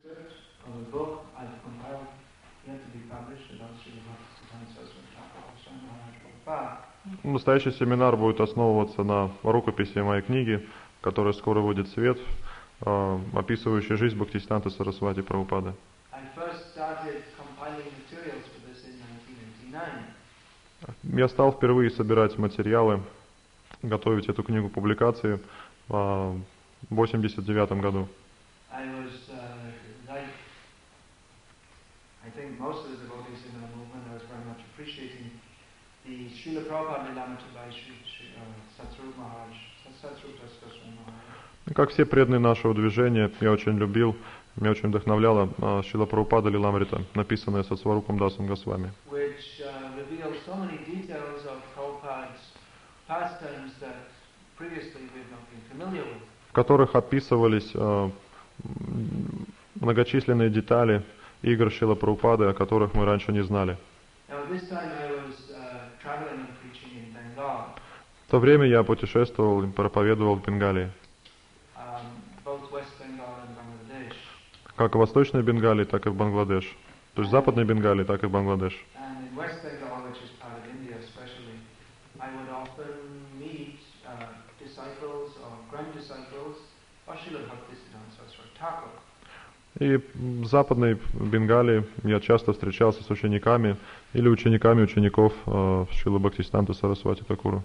Настоящий семинар будет основываться на рукописи моей книги, которая скоро выйдет в свет, описывающей жизнь Бхактисиданта Сарасвати Прабхупады. Я стал впервые собирать материалы, готовить эту книгу к публикации в 1989 году. Как все преданные нашего движения, я очень любил, меня очень вдохновляла Шрила Прабхупада Лиламрита, написанная Сатсварупам Дасом Госвами, в которых описывались многочисленные детали игр Шрила Прабхупады, о которых мы раньше не знали. В то время я путешествовал и проповедовал в Бенгалии, как в Восточной Бенгалии, так и в Бангладеш. То есть в Западной Бенгалии, так и в Бангладеш. И в Западной Бенгалии я часто встречался с учениками или учениками учеников Шрилы Бхактисиданта Сарасвати Такура,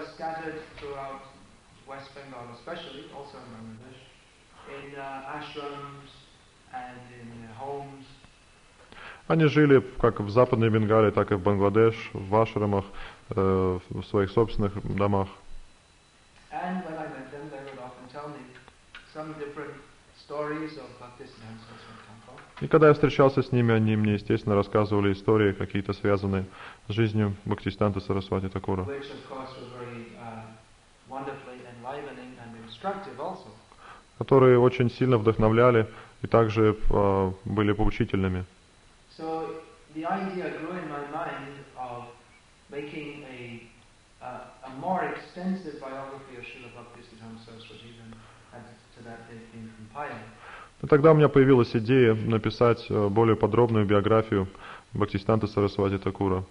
Они жили как в Западной Бенгалии, так и в Бангладеш, в ашрамах, в своих собственных домах. И когда я встречался с ними, они мне, естественно, рассказывали истории, какие-то связанные с жизнью Бхактисиданта Сарасвати Такура, которые очень сильно вдохновляли и также были поучительными. И тогда у меня появилась идея написать более подробную биографию Бхактисиданта Сарасвати Такура,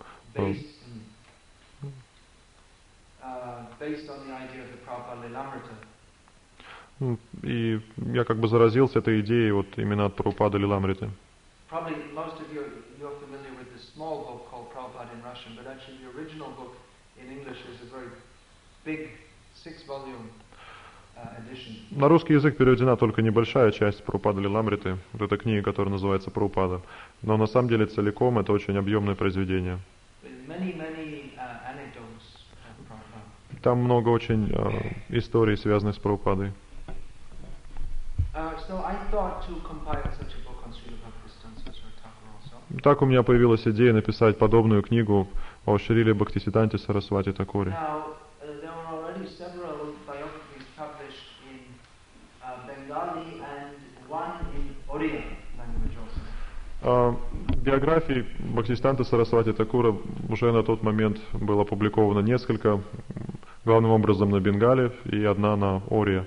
и я как бы заразился этой идеей вот именно от Прабхупады Лиламриты. На русский язык переведена только небольшая часть Прабхупады Лиламриты, вот эта книга, которая называется Прабхупада, но на самом деле целиком это очень объемное произведение. Там много очень историй, связанных с Прабхупадой. Так у меня появилась идея написать подобную книгу о Шриле Бхактисиданте Сарасвати Такуре. Биографий Бхактисиданта Сарасвати Такура уже на тот момент было опубликовано несколько, главным образом на Бенгале и одна на Ория.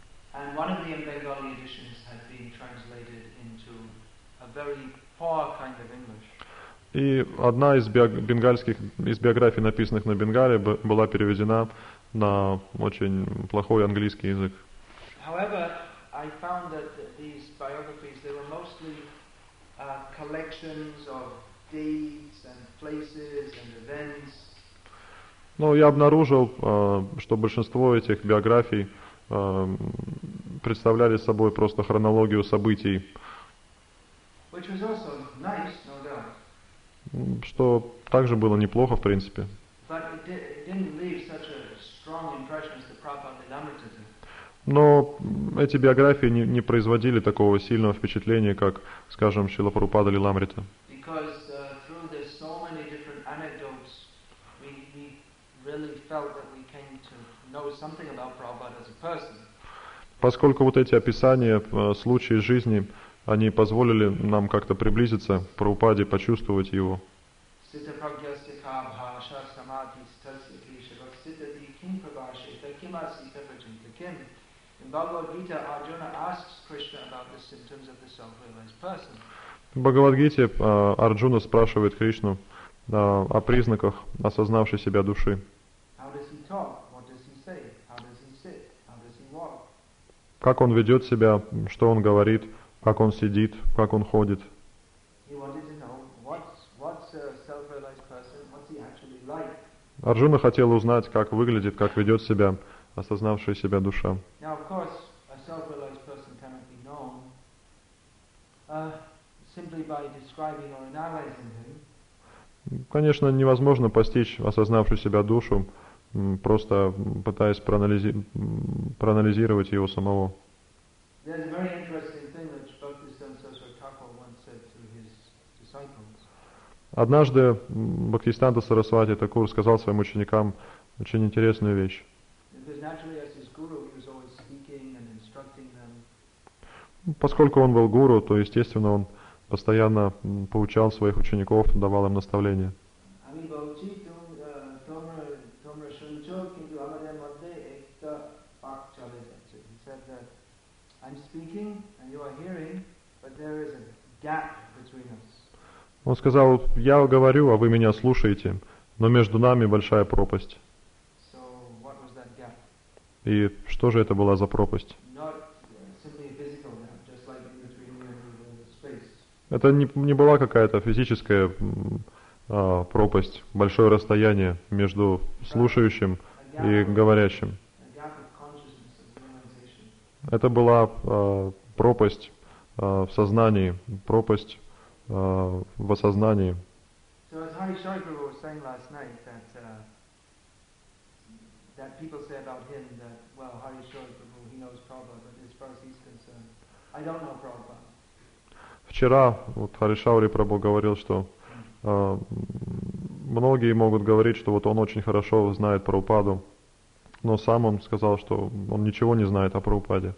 И одна из биографий, написанных на Бенгале, была переведена на очень плохой английский язык. Но я обнаружил, что большинство этих биографий представляли собой просто хронологию событий, что также было неплохо в принципе. Но эти биографии не производили такого сильного впечатления, как, скажем, Шрила Прабхупада Лиламрита. Поскольку вот эти описания случаев жизни, они позволили нам как-то приблизиться к Прабхупаде, почувствовать его. In Bhagavad Gita, Arjuna asks Krishna about the symptoms of the self-realized person. В Бхагавад-гите Арджуна спрашивает Кришну о признаках осознавшей себя души. How does he talk? What does he say? How does he sit? How does he walk? Как он ведет себя, что он говорит, как он сидит, как он ходит. He wanted to know what's a self-realized person, what's he actually like. Арджуна хотел узнать, как выглядит, как ведет себя осознавшая себя душа. Now, of course, a self-realized person cannot be known simply by describing or analyzing him. Конечно, невозможно постичь осознавшую себя душу, просто пытаясь проанализировать его самого. There's a very interesting thing that Bhaktisiddhanta Saraswati Thakur once said to his disciples. Однажды Бхактисиданта Сарасвати Такур сказал своим ученикам очень интересную вещь. Because naturally, as his guru, he was always speaking and instructing them. Поскольку он был гуру, то, естественно, он постоянно поучал своих учеников, давал им наставления. Он сказал: я говорю, а вы меня слушаете, но между нами большая пропасть. И что же это была за пропасть? Это не была какая-то физическая пропасть, большое расстояние между слушающим и говорящим. Это была пропасть в сознании, пропасть в осознании. People say about him that, well, Harishwar Prabhu, he knows Prabhupada, but as far as he's concerned, I don't know Prabhupada. Вчера вот Харишаури Прабху говорил, что многие могут говорить, что вот он очень хорошо знает Прабхупаду, но сам он сказал, что он ничего не знает о Прабхупаде.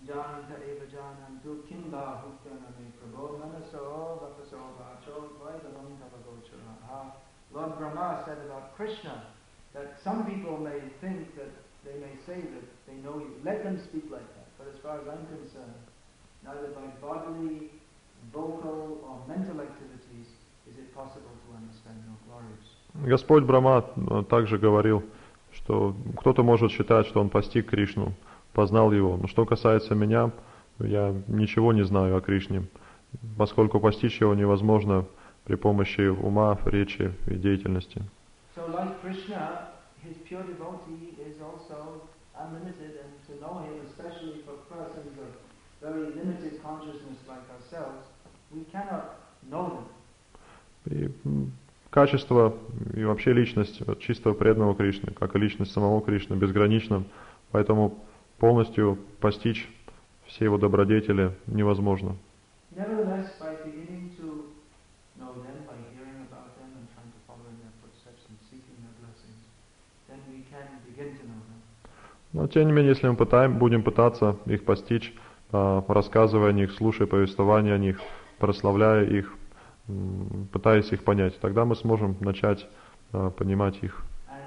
Lord Brahma said about Krishna that some people may think that they may say that they know you. Let them speak like that. But as far as I'm concerned, neither by bodily, vocal or mental activities is it possible to understand your glories. Господь Брахма также говорил, что кто-то может считать, что он постиг Кришну, познал его. Но что касается меня, я ничего не знаю о Кришне, поскольку постичь его невозможно при помощи ума, речи и деятельности. So like Krishna, his pure devotee is also unlimited, and to know him, especially for persons of very limited consciousness like ourselves, we cannot know them. И качество и вообще личность чистого преданного Кришны, как и личность самого Кришны, безгранична, поэтому полностью постичь все его добродетели невозможно. Nevertheless, by beginning to know them, by hearing about them and trying to follow in their footsteps and seeking their blessings, then we can begin to know them. Но тем не менее, если мы будем пытаться их постичь, рассказывая о них, слушая повествования о них, прославляя их, пытаясь их понять, тогда мы сможем начать понимать их.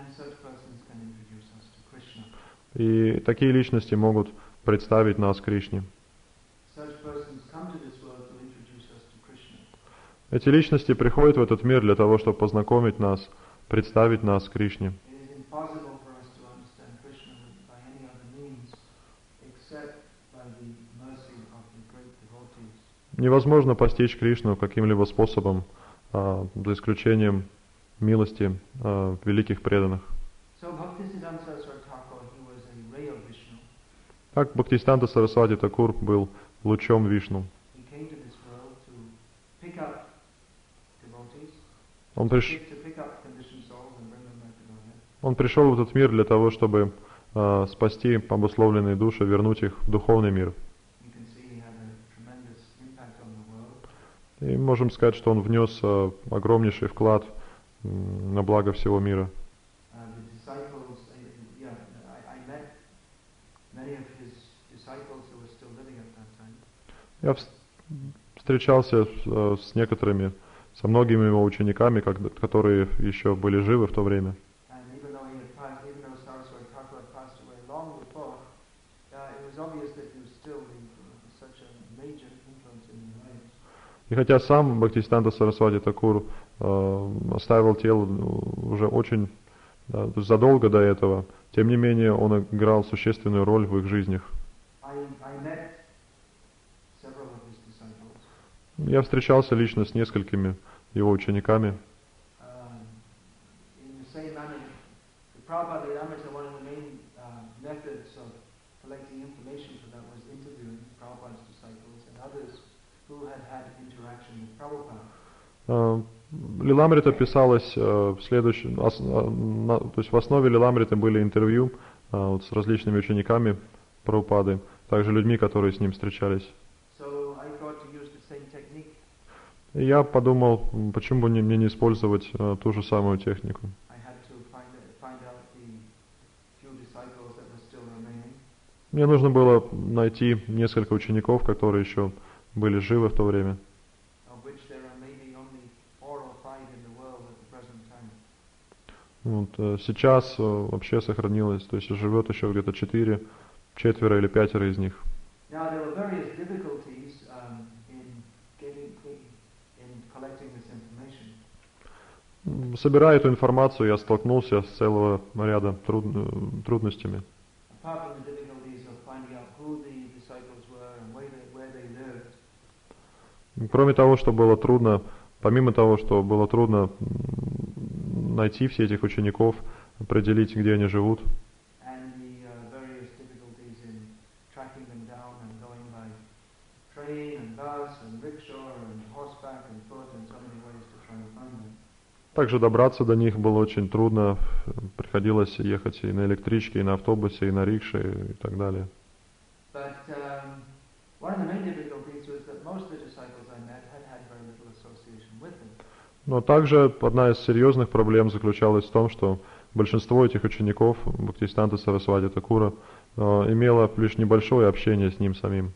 И такие личности могут представить нас Кришне. Эти личности приходят в этот мир для того, чтобы познакомить нас, представить нас Кришне. Невозможно постичь Кришну каким-либо способом, за исключением милости великих преданных. Так Бхактисиданта Сарасвати Такур был лучом Вишну. Он пришел в этот мир для того, чтобы спасти обусловленные души, вернуть их в духовный мир. И можем сказать, что он внес огромнейший вклад на благо всего мира. Я встречался с некоторыми, со многими его учениками, которые еще были живы в то время. И хотя сам Бхактисиданта Сарасвати Такур оставил тело уже очень то есть задолго до этого, тем не менее он играл существенную роль в их жизнях. Я встречался лично с несколькими его учениками. Лиламрита писалось следующим, то есть в основе Лиламрита были интервью вот, с различными учениками Прабхупады, также людьми, которые с ним встречались. И я подумал, почему бы мне не использовать ту же самую технику. Мне нужно было найти несколько учеников, которые еще были живы в то время. Вот, сейчас вообще сохранилось, то есть живет еще где-то 4 или 5 из них. Собирая эту информацию, я столкнулся с целого ряда трудностями. Кроме того, что было трудно, помимо того, что было трудно найти всех этих учеников, определить, где они живут. Также добраться до них было очень трудно, приходилось ехать и на электричке, и на автобусе, и на рикше, и так далее. Но также одна из серьезных проблем заключалась в том, что большинство этих учеников Бхактисиданта Сарасвати Такура имело лишь небольшое общение с ним самим.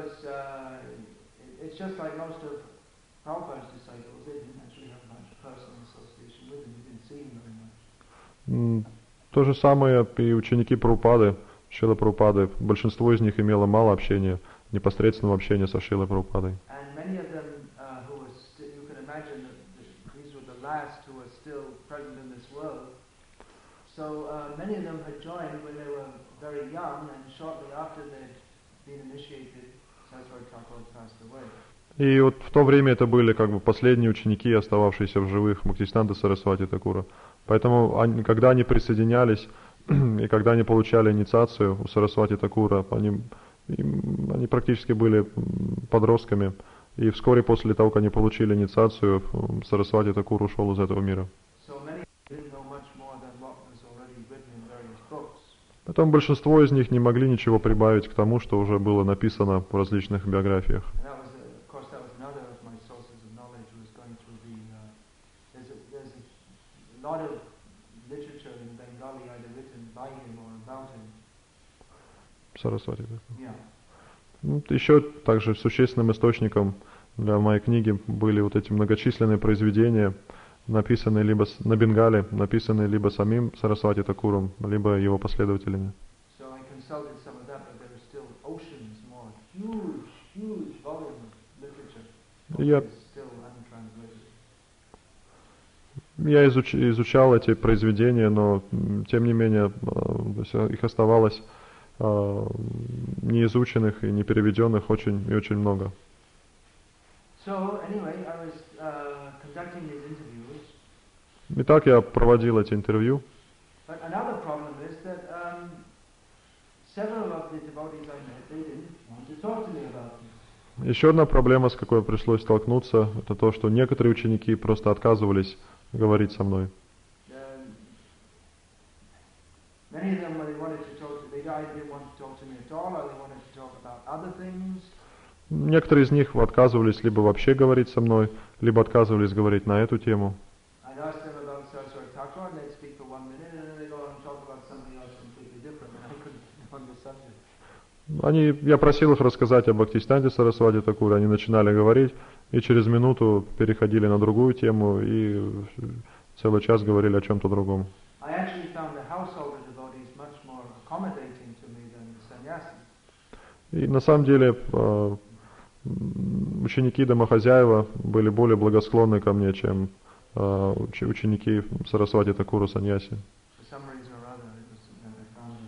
То же самое и ученики Прабхупады, Шрилы Прабхупады, большинство из них имело мало общения, непосредственного общения со Шрилой Прабхупадой. И вот в то время это были как бы последние ученики, остававшиеся в живых Бхактисиданта Сарасвати Такура. Поэтому, когда они присоединялись и когда они получали инициацию у Сарасвати Такура, они практически были подростками. И вскоре после того, как они получили инициацию, Сарасвати Такур ушел из этого мира. Поэтому большинство из них не могли ничего прибавить к тому, что уже было написано в различных биографиях. Сарасвати. Еще также существенным источником для моей книги были вот эти многочисленные произведения, написанные либо на бенгале, написанные либо самим Сарасвати Такуром, либо его последователями. Я изучал эти произведения, но тем не менее их оставалось неизученных и не переведенных очень и очень много. Итак, я проводил эти интервью. Еще одна проблема, с какой пришлось столкнуться, это то, что некоторые ученики просто отказывались говорить со мной. Некоторые из них отказывались либо вообще говорить со мной, либо отказывались говорить на эту тему. Я просил их рассказать об Бхактисиданте Сарасвати Такуре, они начинали говорить, и через минуту переходили на другую тему, и целый час говорили о чем-то другом. И на самом деле ученики домохозяева были более благосклонны ко мне, чем ученики Сарасвати Такура Саньяси. For some reason or other, it was, I found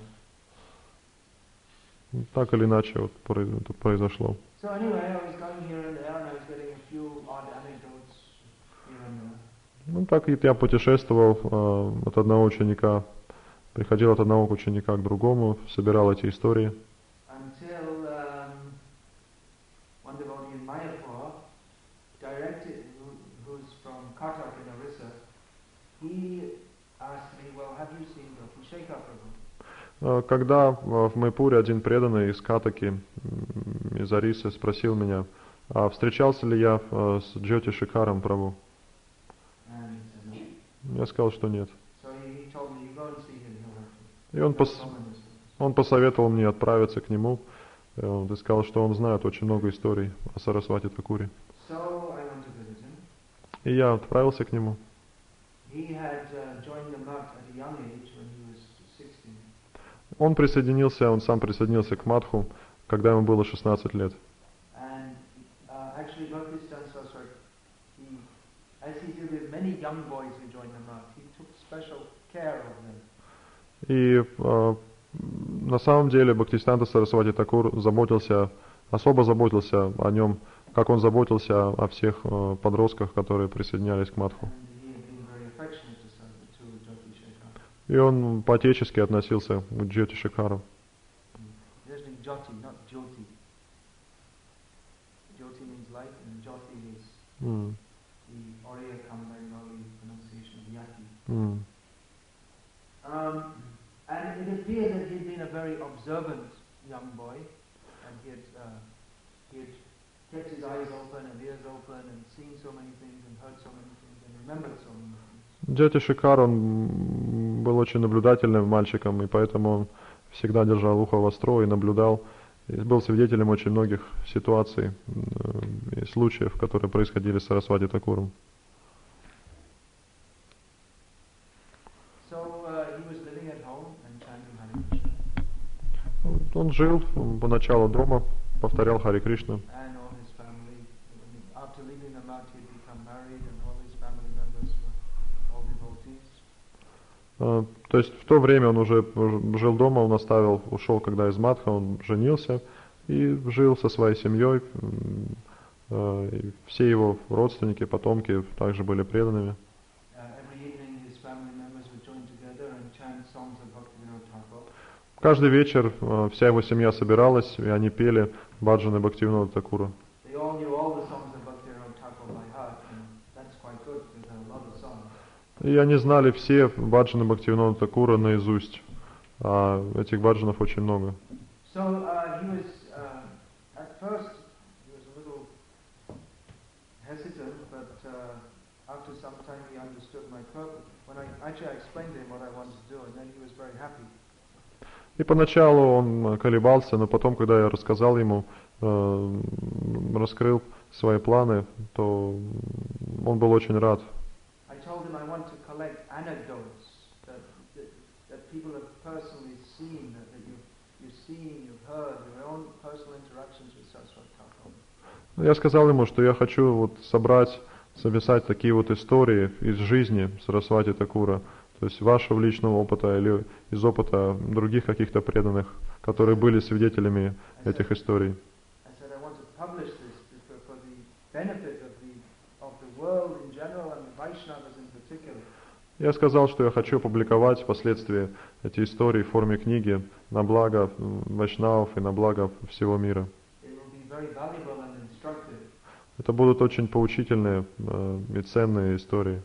it. Так или иначе вот это произошло. So anyway, I was going here and there, and I was getting a few odd anecdotes here and there. Ну так и я путешествовал от одного ученика, приходил от одного ученика к другому, собирал эти истории. Until one devotee in Mayapur, who's from Cuttack in Orissa, he asked me, well, have you seen Dhoti Shekhar Prabhu? Когда в Майпуре один преданный из Катаки, из Орисы, спросил меня, а встречался ли я с Джоти Шекаром Прабху? Я сказал, что нет. И он посоветовал мне отправиться к нему. Он сказал, что он знает очень много историй о Сарасвати Такуре. И я отправился к нему. Он сам присоединился к Мадху, когда ему было 16 лет. И на самом деле Бхактисиданта Сарасвати Такур особо заботился о нем, как он заботился о всех подростках, которые присоединялись к Мадху. И он по-отечески относился к Джоти Шекару. And it appeared that he'd been a very observant young boy, and he had kept his eyes open and ears open and seen so many things and heard so many things and remembered so many things. Джоти Шекар, он был очень наблюдательным мальчиком, и поэтому он всегда держал ухо востро и наблюдал, и был свидетелем очень многих ситуаций и случаев, которые происходили с Сарасвати Такуром. Он жил поначалу дома, повторял Хари Кришна. То есть в то время он уже жил дома, он ушел когда из Мадха, он женился и жил со своей семьей. И все его родственники, потомки также были преданными. Каждый вечер вся его семья собиралась, и они пели баджаны Бхактивинода Такура. И они знали все баджаны Бхактивинода Такура наизусть, а этих баджанов очень много. И поначалу он колебался, но потом, когда я рассказал ему, раскрыл свои планы, то он был очень рад. Я сказал ему, что я хочу вот записать такие вот истории из жизни Сарасвати Такура, то есть вашего личного опыта или из опыта других каких-то преданных, которые были свидетелями этих историй. Я сказал, что я хочу опубликовать впоследствии эти истории в форме книги на благо вайшнавов и на благо всего мира. Это будут очень поучительные и ценные истории.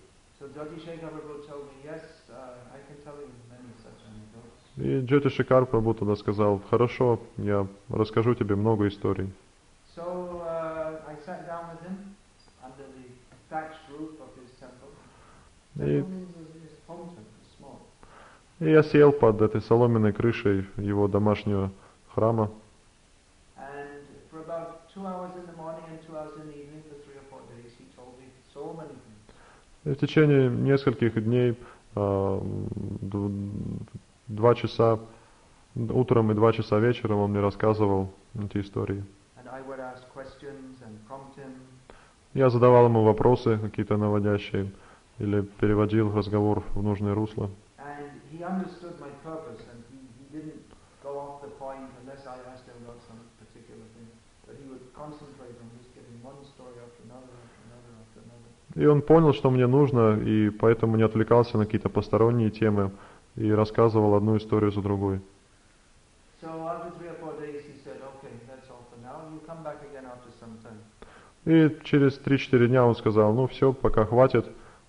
И Джоти Шекар Прабху тогда сказал, хорошо, я расскажу тебе много историй. И я сел под этой соломенной крышей его домашнего храма. И в течение нескольких дней 2 часа утром и 2 часа вечером он мне рассказывал эти истории. I would ask questions and prompt him. Я задавал ему вопросы какие-то наводящие или переводил разговор в нужное русло. And he understood my purpose, and he didn't go off the point unless I asked him about some particular thing. But he would concentrate on just giving one story after another, after another, after another. И он понял, что мне нужно, и поэтому не отвлекался на какие-то посторонние темы и рассказывал одну историю за другой. So after 3 or 4 days he said, okay, that's all for now. You come back again after some time. И через 3-4 дня он сказал, ну все, пока хватит,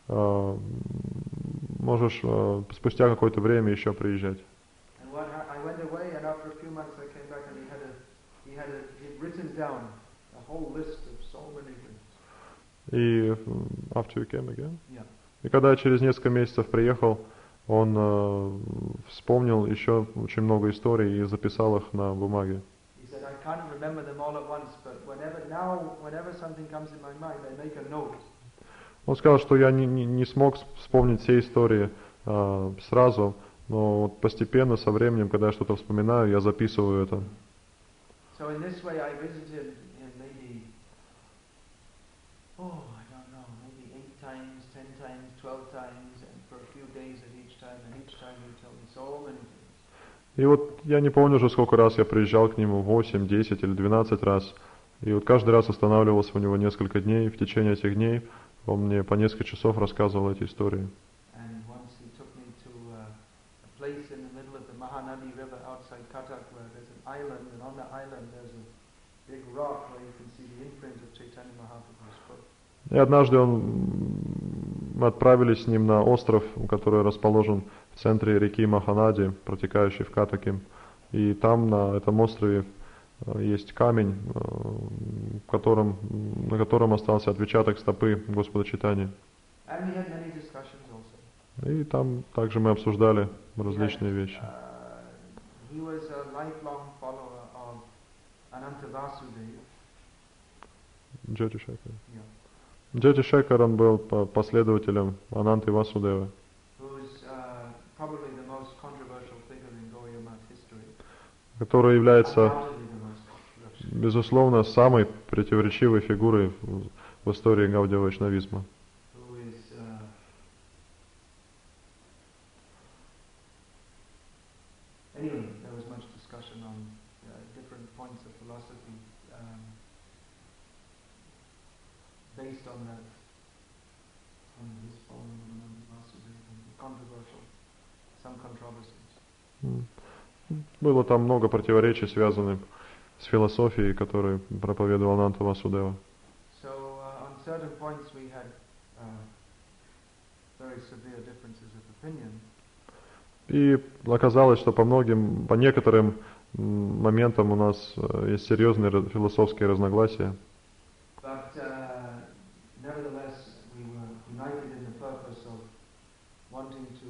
можешь спустя какое-то время еще приезжать. And I went away, and after a few months I came back, and he'd written down a whole list of so many things. И after you came again? Yeah. И когда я через несколько месяцев приехал, он вспомнил еще очень много историй и записал их на бумаге. He said, I can't remember them all at once, but whenever something comes in my mind, I make a note. Он сказал, что я не смог вспомнить все истории сразу, но вот постепенно, со временем, когда я что-то вспоминаю, я записываю это. So in this way I visited him maybe, I don't know, maybe 8 times, 10 times, 12 times, and for a few days at each time, and each time he told me so many things. И вот я не помню уже, сколько раз я приезжал к нему, 8, 10 или 12 раз. И вот каждый раз останавливался у него несколько дней. В течение этих дней он мне по несколько часов рассказывал эти истории. And once he took me to a place in the middle of the Mahanadi River outside Cuttack, where there's an island, and on the island there's a big rock where you can see the imprint of Chaitanya Mahaprabhu's foot. И однажды мы отправились с ним на остров, который расположен в центре реки Маханади, протекающей в Каттаке. И там, на этом острове, есть камень, на котором остался отпечаток стопы Господа Чайтаньи. And we had many discussions also. И там также мы обсуждали различные вещи. He was a lifelong follower of Ananta Vasudeva. Джоти Шекар. Yeah. Джоти Шекар, он был последователем Ананты Васудевы, Who's probably the most controversial figure in Gaudiya Math history. который является, Undoubtedly the most controversial. безусловно, самой противоречивой фигурой в истории Гаудия Вайшнавизма. Who is anyway, there was much discussion on different points of philosophy based on that, on his following of Ananta Vasudeva, controversial, some controversies. Было там много противоречий, связанных с философией, которую проповедовал Ананта Васудева. So on certain points we had very severe differences of opinion. И оказалось, что по некоторым моментам у нас есть серьезные философские разногласия. But nevertheless, we were united in the purpose of wanting to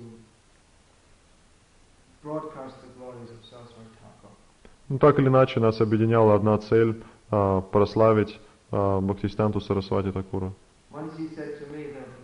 broadcast the glories of Saraswati Thakur. Ну, так или иначе, нас объединяла одна цель прославить Бхактисиддханту Сарасвати Такура. Once he said to me that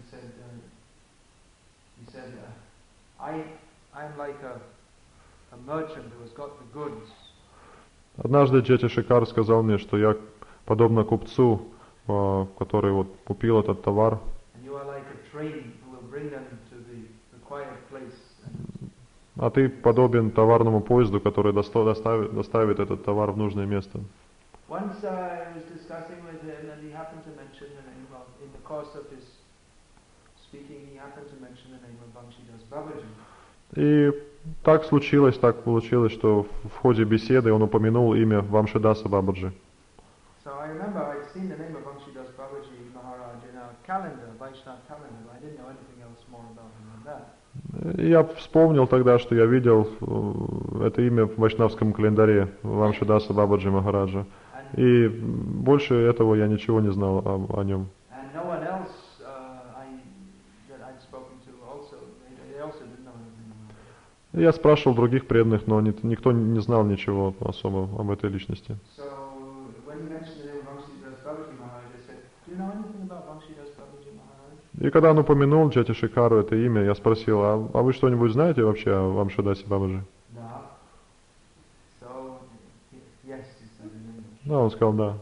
he said, I'm like a merchant who has got the goods. Однажды Джоти Шекар сказал мне, что я подобно купцу, который вот купил этот товар. And you are like a train who will bring them to the required place. А ты подобен товарному поезду, который доставит этот товар в нужное место. Once I was discussing with him, and he happened to mention the name of, in the course of his speaking, he happened to mention the name of Banshidas Babaji. И так получилось, что в ходе беседы он упомянул имя Вамшидаса Бабаджи. So I remember I'd seen the name of Banshidas Babaji Maharaj in our calendar, Vaishnava calendar, but I didn't know anything else more about him than that. Я вспомнил тогда, что я видел это имя в вайшнавском календаре Вамшидаса Бабаджи Махараджа. И больше этого я ничего не знал о нем. And no one else that I'd spoken to also, they also didn't know anything about it. Я спрашивал других преданных, но никто не знал ничего особо об этой личности. So when he mentioned the name of Banshidas Babaji Maharaj, I said, do you know anything about Banshidas Babaji Maharaj? И когда он упомянул Джоти Шекару это имя, я спросил, а вы что-нибудь знаете вообще о Вамшидасе Бабаджи? No. So yes, he said in English. Да, он сказал, да.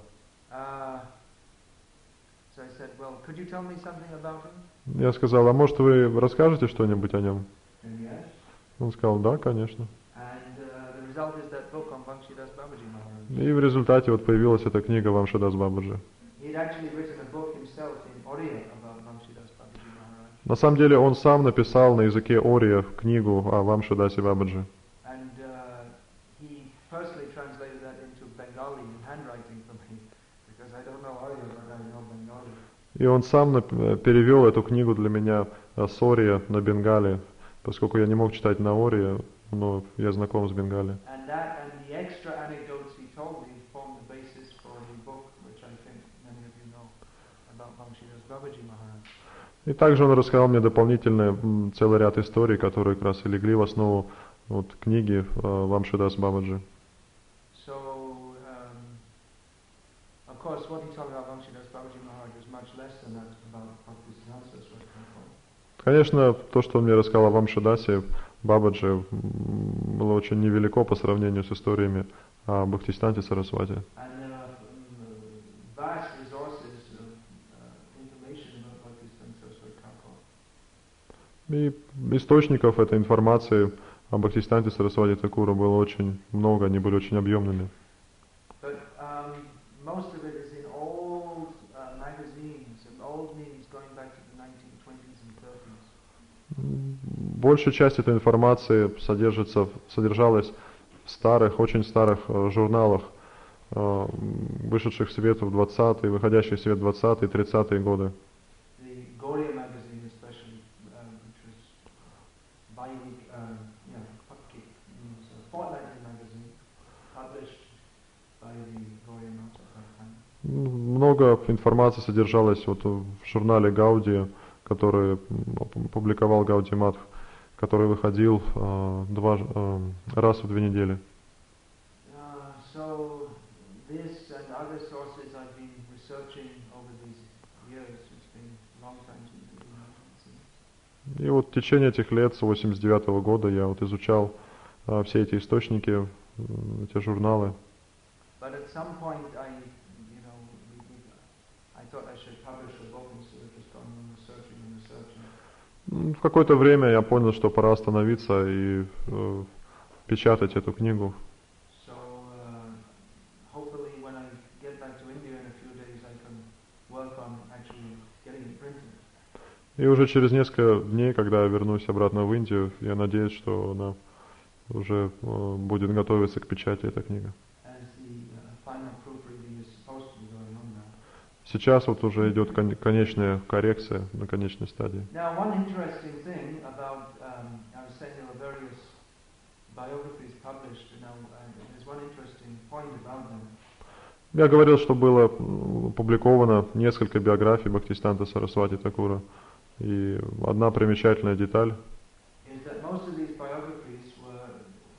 So I said, well, could you tell me something about him? Я сказал, а может вы расскажете что-нибудь о нем? And yes. Он сказал, да, конечно. And the result is that book on Bhangshidas Babaji Maharaj. И в результате вот появилась эта книга Вамшидас Бабаджи. He'd actually written a book himself in Oriya about Bhangshidas Babaji Maharaj. На самом деле он сам написал на языке Ория книгу о Вамшидасе Бабаджи. And he personally translated that into Bengali in handwriting for me, because I don't know Oriya, but I know Bengali. И он сам перевел эту книгу для меня с Ория на Бенгали, поскольку я не мог читать на Ория, но я знаком с Бенгали. And that and the extra anecdotes he told me formed the basis for the book, which I think many of you know, about Bhangshidas Babaji Maharaj. И также он рассказал мне дополнительно целый ряд историй, которые как раз и легли в основу вот, книги Вамшидас Бабаджи. So, of course, what he told about Bhangshidas Babaji Maharaj was much less than that about Bhaktisiddhanta Saraswati Thakur. Конечно, то, что он мне рассказал о Вамшидасе Бабаджи, было очень невелико по сравнению с историями о Бхактисиданте Сарасвати. And there are vast resources of information about Bhaktisiddhanta Saraswati Thakur. И источников этой информации о Бхактисиданте Сарасвати Такура было очень много, они были очень объемными. But most of it is in old magazines and old meetings going back to the 1920s and 30s. Большая часть этой информации содержалась в старых, очень старых журналах, вышедших в свет в 20-е, выходящих в свет в 20-е и 30-е годы. The Gauriya magazine especially, which was bi-week, fortnightly magazine, published by the Gauriya Math at that time. Много информации содержалось вот в журнале Гауди, который публиковал Гауди Матх, который выходил раз в 2 недели. So this and other sources I've been researching over these years. It's been a long time since I've been seen. И вот в течение этих лет, с 89-го года, я вот изучал все эти источники, эти журналы. But at some point I thought I should publish a book instead of just going on researching and researching. В какое-то время я понял, что пора остановиться и печатать эту книгу. So hopefully when I get back to India in a few days I can work on actually getting it printed. И уже через несколько дней, когда я вернусь обратно в Индию, я надеюсь, что она уже будет готовиться к печати, эта книга. As the final proofreading is supposed to be going on now. Сейчас вот уже идет конечная коррекция на конечной стадии. Now, one interesting thing about, I was saying there were various biographies published, there's one interesting point about them. Я говорил, что было опубликовано несколько биографий Бхактисиданта Сарасвати Такура, и одна примечательная деталь. Is that most of these biographies were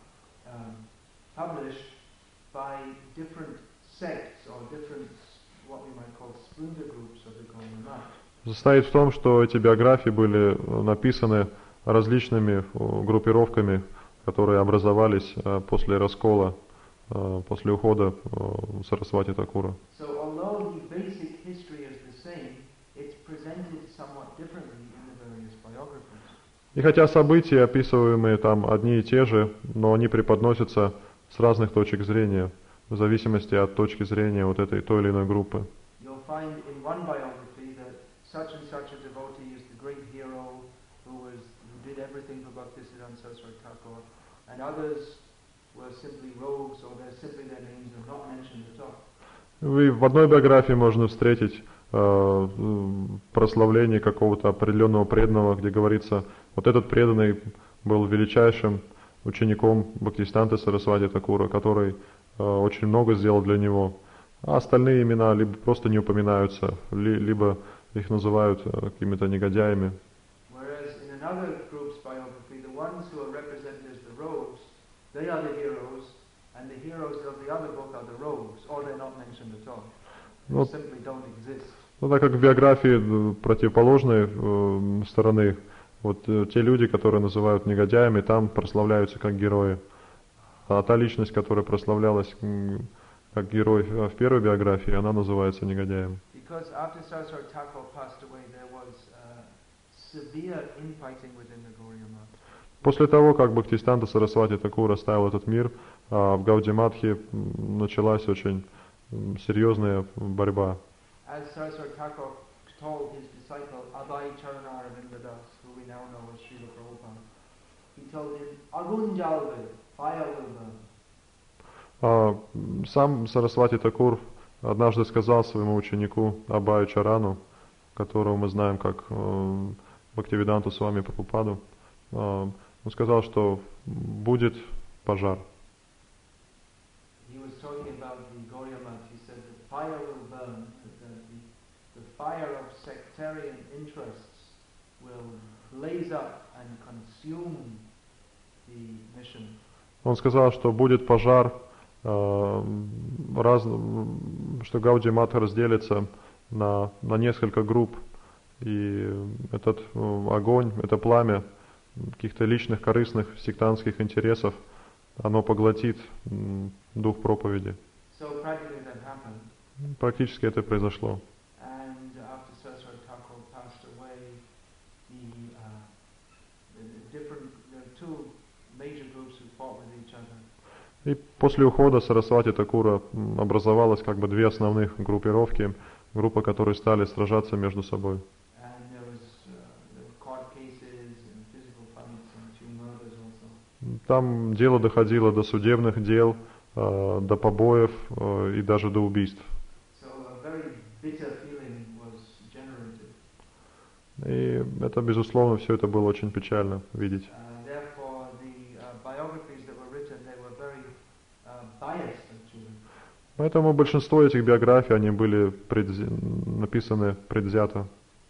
published by different sects or different what we might call splinter groups of the Gaudiya Math. Состоит в том, что эти биографии были написаны различными группировками, которые образовались после раскола, после ухода Сарасвати Такура. So although the basic history is the same, it's presented somewhat differently in the various biographies. И хотя события, описываемые там, одни и те же, но они преподносятся с разных точек зрения, в зависимости от точки зрения вот этой той или иной группы. You'll find in one biography that such and such a devotee is the great hero who did everything for Bhaktisiddhanta Saraswati Thakur, and others were simply rogues or they're simply their names are not mentioned at all. В одной биографии можно встретить прославление какого-то определенного преданного, где говорится, вот этот преданный был величайшим учеником Бхактисиданта Сарасвати Такура, который очень много сделал для него, а остальные имена либо просто не упоминаются, либо их называют какими-то негодяями. Whereas in another group's biography, the ones who are represented as the rogues, they are the heroes, and the heroes of the other book are the rogues, or they're not mentioned at all. They simply don't exist. Ну, так как в биографии противоположной стороны, вот те люди, которые называют негодяями, там прославляются как герои. А та личность, которая прославлялась как герой в первой биографии, она называется негодяем. Because after Saraswati Thakur passed away, there was severe infighting within the Gaudiya Math. После того, как Бхактисиданта Сарасвати Такур оставил этот мир, в Гаудия-матхе началась очень серьезная борьба. As Saraswati Thakur told his disciple Abhay Charana Arvinda Das, who we now know as Srila Prabhupada, he told him, Agun jalve, fire will burn. Сам Сарасвати Такур однажды сказал своему ученику Абхаю Чарану, которого мы знаем как Бхактивиданту Свами Прабхупаду, он сказал, что будет пожар. He was talking about the Gaudiya Math. He said that fire will burn, that the fire of sectarian interests will blaze up and consume the mission. Он сказал, что будет пожар, что Гаудия Матха разделится на несколько групп, и этот огонь, это пламя каких-то личных, корыстных, сектантских интересов, оно поглотит дух проповеди. So practically that happened. Практически это произошло. And after Saraswati Thakur passed away, there are two major groups who fought with each other. И после ухода Сарасвати Такура образовалось как бы две основных группировки, группы, которые стали сражаться между собой. Там дело доходило до судебных дел, до побоев и даже до убийств. И это, безусловно, все это было очень печально видеть. Поэтому большинство этих биографий, они были написаны предвзято.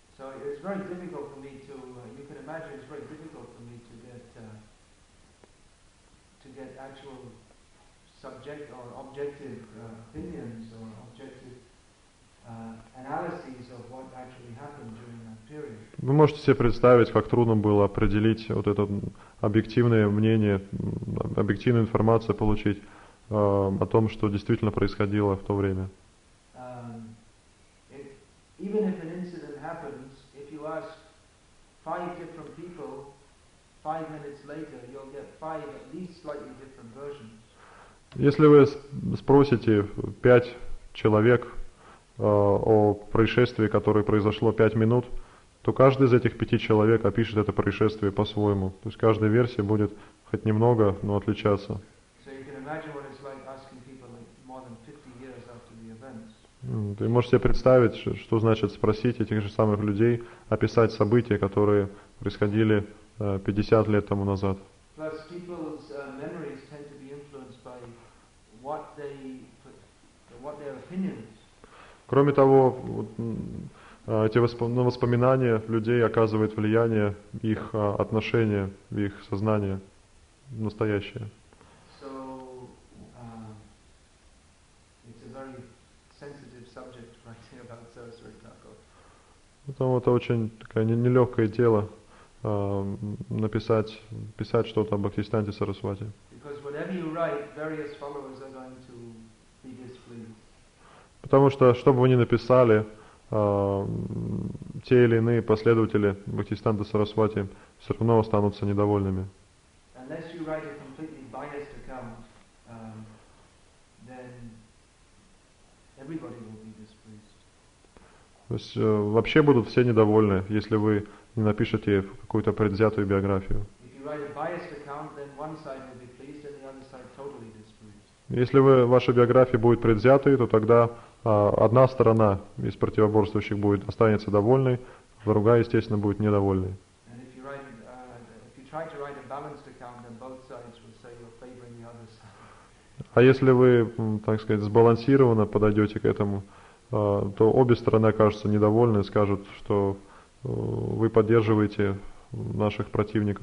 Вы можете себе представить, как трудно было определить вот это объективное мнение, объективную информацию получить о том, что действительно происходило в то время. Если вы спросите 5 человек о происшествии, которое произошло 5 минут, то каждый из этих 5 человек опишет это происшествие по-своему. То есть каждая версия будет хоть немного, но отличаться. Вы можете себе представить, что значит спросить этих же самых людей, описать события, которые происходили 50 лет тому назад. Кроме того, эти воспоминания людей оказывают влияние их отношения, в их сознание настоящее. Поэтому это очень такое нелегкое дело писать что-то об Бхактисиданте Сарасвати. Потому что, что бы вы ни написали, те или иные последователи Бхактисиданта Сарасвати все равно останутся недовольными. То есть вообще будут все недовольны, если вы не напишете какую-то предвзятую биографию. Если ваша биография будет предвзятой, то тогда одна сторона из противоборствующих останется довольной, другая, естественно, будет недовольной. А если вы, так сказать, сбалансированно подойдете к этому, то обе стороны окажутся недовольны и скажут, что вы поддерживаете наших противников.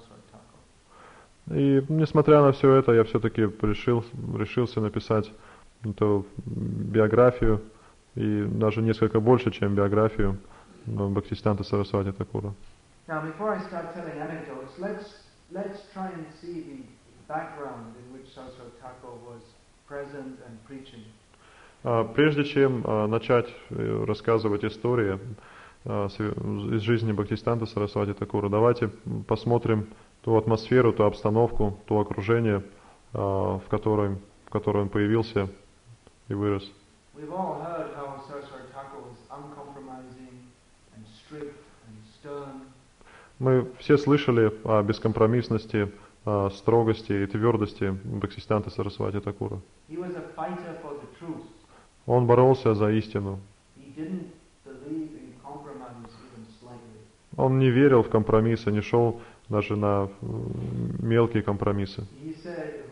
И несмотря на все это, я все-таки решился написать это биографию, и даже несколько больше, чем биографию Бхактисиданта Сарасвати Такура. Now, before I start telling anecdotes, let's try and see the background in which Saraswati Thakur was present and preaching. Прежде чем начать рассказывать истории из жизни Бхактисиданта Сарасвати Такура, давайте посмотрим ту атмосферу, ту обстановку, то окружение, в котором он появился и вырос. We've all heard how Saraswati Thakur was uncompromising and strict and stern. Мы все слышали о бескомпромиссности, строгости и твердости Бхактисиданта Сарасвати Такура. He was a fighter for the truth. Он боролся за истину. He didn't believe in compromise even slightly. Он не верил в компромиссы, не шел даже на мелкие компромиссы. He said,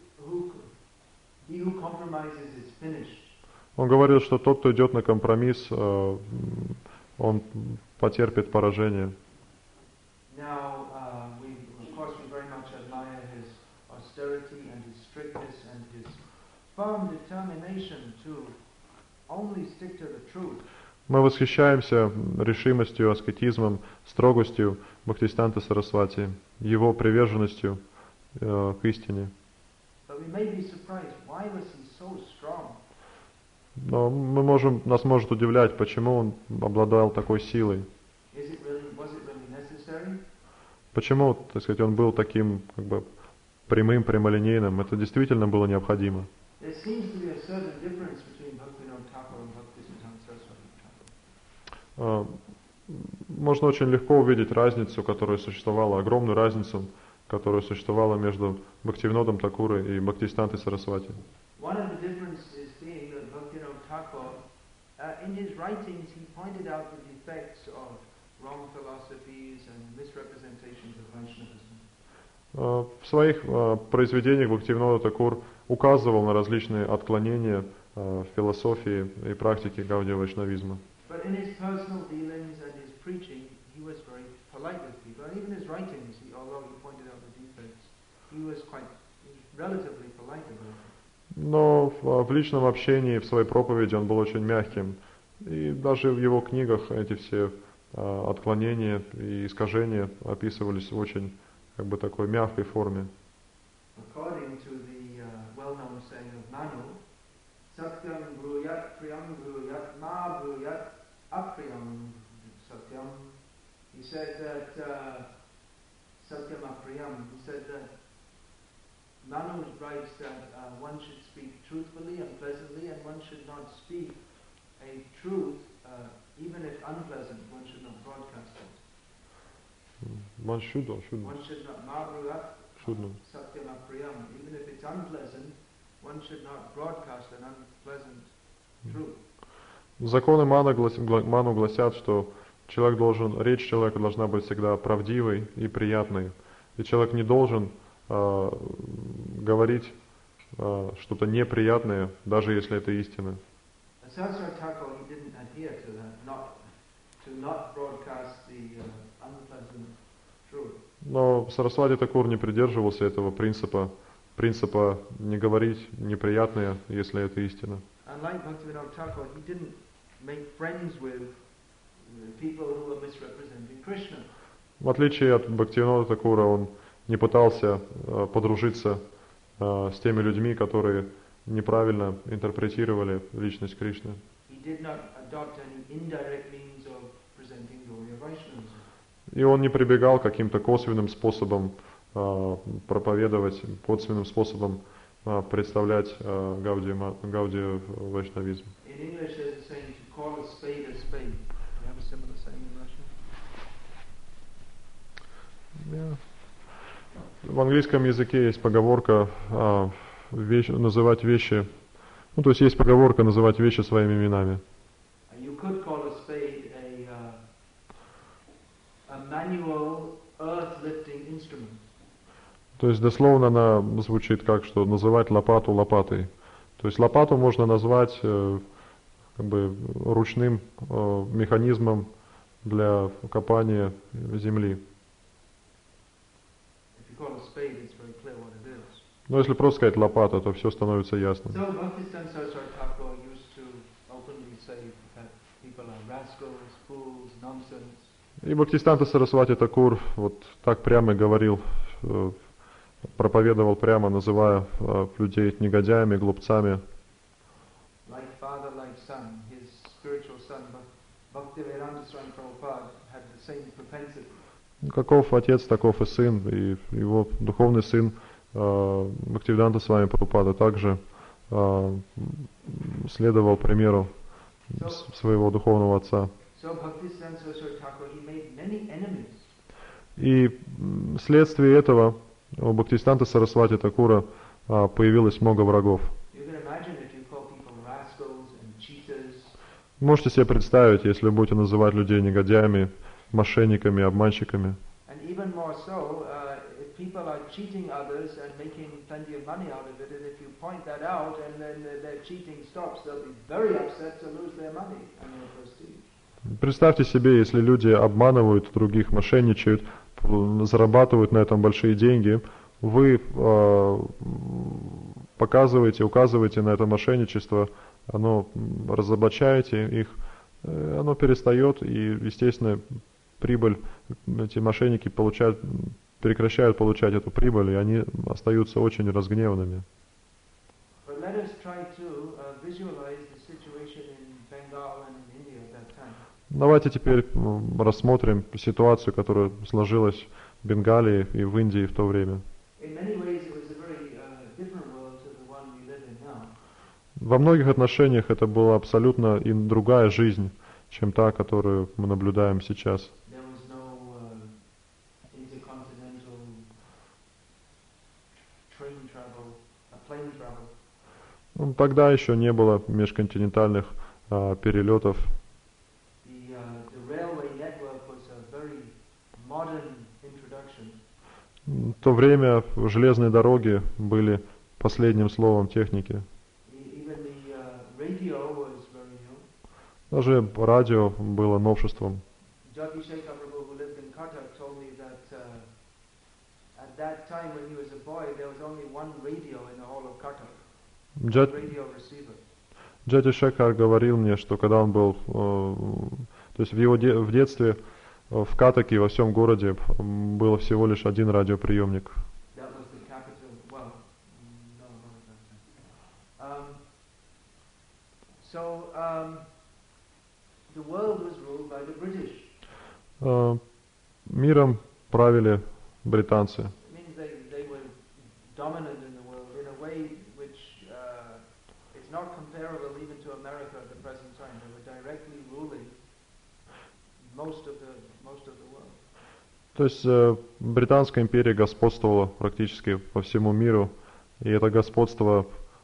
he who compromises is finished. Он говорил, что тот, кто идет на компромисс, он потерпит поражение. Now, of course, we very much admire his austerity and his strictness and his firm determination to only stick to the truth. Мы восхищаемся решимостью, аскетизмом, строгостью Бхактисиданта Сарасвати, его приверженностью к истине. But we may be surprised, why was he so strong? Но нас может удивлять, почему он обладал такой силой. Was it really necessary? Почему, так сказать, он был таким как бы прямым, прямолинейным? Это действительно было необходимо. There seems to be a certain difference between Bhaktivinoda Thakur and Bhaktisiddhanta Saraswati Thakur. Можно очень легко увидеть разницу, которая существовала, огромную разницу, которая существовала между Бхактивинодом Такурой и Бхактисидантой Сарасвати. One of the differences being that Bhaktivinoda Thakur, in his writings, he pointed out the defects of wrong philosophies and misrepresentations of Vaishnavism. В своих произведениях Бхактивинода Такур указывал на различные отклонения в философии и практике гаудия-вайшнавизма. But in his personal dealings and his preaching, he was very polite with people. And even his writings, although he pointed out the defects, he was relatively polite about it. Но в личном общении, в своей проповеди он был очень мягким. И даже в его книгах эти все отклонения и искажения описывались в очень как бы такой мягкой форме. According to the well-known saying of Manu, Satyam bruyat priyam bruyat ma bruyat apriyam satyam. He said that Satyam apriyam. He said that Manu writes that one should speak truthfully and pleasantly, and one should not speak a truth, even if unpleasant. One should not broadcast it. One should not. One should not ma bruyat satyam apriyam. Even if it's unpleasant, one should not broadcast an unpleasant truth. Законы Ману гласят, что речь человека должна быть всегда правдивой и приятной. И человек не должен говорить что-то неприятное, даже если это истина. Saraswati Thakur, he didn't adhere to that, to not broadcast the unpleasant truth. Но Сарасвати Такур не придерживался этого принципа не говорить неприятное, если это истина. Unlike Bhaktivinoda Thakur, he didn't make friends with people who were misrepresenting Krishna. В отличие от Бхактивинода Такура, он не пытался подружиться с теми людьми, которые неправильно интерпретировали личность Кришны. He did not adopt any indirect means of presenting Gaudiya Vaishnavism. И он не прибегал к каким-то косвенным способам проповедовать, косвенным способом представлять гаудия вайшнавизм. In English there's a saying to call a spade a spade. You have a similar saying in Russian? В английском языке есть поговорка называть вещи, то есть есть поговорка называть вещи своими именами. You could call a spade a manual earth-lifting instrument. То есть дословно она звучит как, что называть лопату лопатой. То есть лопату можно назвать как бы ручным механизмом для копания земли. Но если просто сказать лопата, то все становится ясно. So Bhaktisiddhanta Saraswati Thakur used to openly say that people are rascals, fools, nonsense. И Бхактисиданта Сарасвати Такур вот так прямо и говорил, проповедовал прямо, называя людей негодяями, глупцами. Like father, like son, his spiritual son, Bhaktivedanta Swami Prabhupada had the same propensity. Каков отец, таков и сын, и его духовный сын Бхактивиданта Свами Прабхупада также следовал примеру своего духовного отца. So Bhaktisiddhanta Saraswati Thakur, he made many enemies. И вследствие этого у Бхактисиданта Сарасвати Такура появилось много врагов. You can imagine if you call people rascals and cheaters. Можете себе представить, если вы будете называть людей негодяями, мошенниками, обманщиками. And even more so, if people are cheating others and making plenty of money out of it, and if you point that out and then their cheating stops, they'll be very upset to lose their money and their prestige. Представьте себе, если люди обманывают других, мошенничают, зарабатывают на этом большие деньги, вы показываете, указываете на это мошенничество, оно разоблачаете их, оно перестает, и, естественно, прибыль, эти мошенники прекращают получать эту прибыль, и они остаются очень разгневанными. But let us try to visualize the situation in Bengal and in India at that time. Давайте теперь рассмотрим ситуацию, которая сложилась в Бенгалии и в Индии в то время. In many ways, it was a very different world to the one we live in now. Во многих отношениях это была абсолютно и другая жизнь, чем та, которую мы наблюдаем сейчас. There was no intercontinental train travel, plane travel. Тогда еще не было межконтинентальных перелетов. The railway network was a very modern introduction. В то время железные дороги были последним словом техники. Even the radio was very new. Даже радио было новшеством. Jyoti Shekhar Prabhu, who lived in Cuttack, told me that at that time when he was a boy, there was only one radio in the whole of Cuttack. Radio receiver. Джати Шекхар говорил мне, что когда он был, то есть в детстве в Каттаке, во всем городе, было всего лишь один радиоприемник. That was the capital. Well, no, not at that time. The world was ruled by the British. Миром правили британцы. It means they were dominant in the world in a way which is not comparable even to America at the present time. They were directly ruling most of the world. То есть Британская империя господствовала практически по всему миру, и это господство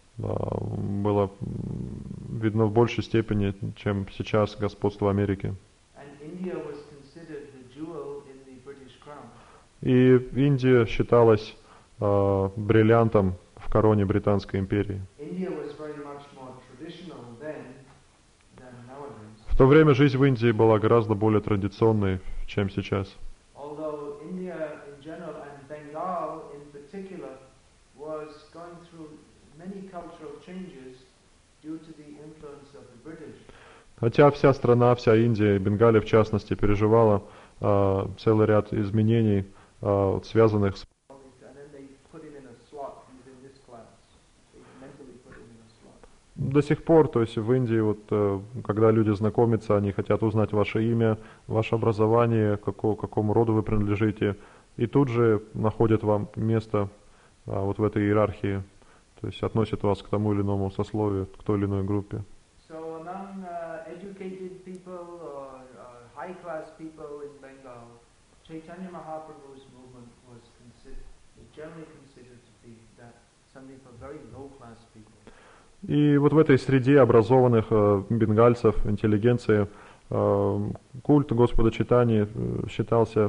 было видно в большей степени, чем сейчас господство Америки. And India was considered the jewel in the British crown. И Индия считалась бриллиантом в короне Британской империи. India was very much more traditional then than nowadays. В то время жизнь в Индии была гораздо более традиционной, чем сейчас. Although India in general and Bengal in particular was going through many cultural changes due to the influence of the British. Хотя вся страна, вся Индия, и Бенгалия в частности, переживала целый ряд изменений, связанных с... And then they put it in a slot within this class. They mentally put it in a slot. До сих пор, то есть в Индии, вот, когда люди знакомятся, они хотят узнать ваше имя, ваше образование, какому роду вы принадлежите, и тут же находят вам место вот в этой иерархии, то есть относят вас к тому или иному сословию, к той или иной группе. So among educated people or high-class people in Bengal, Chaitanya Mahaprabhu's movement was generally considered to be something for very low-class people. И вот в этой среде образованных бенгальцев, интеллигенции, культ Господа Чайтаньи считался,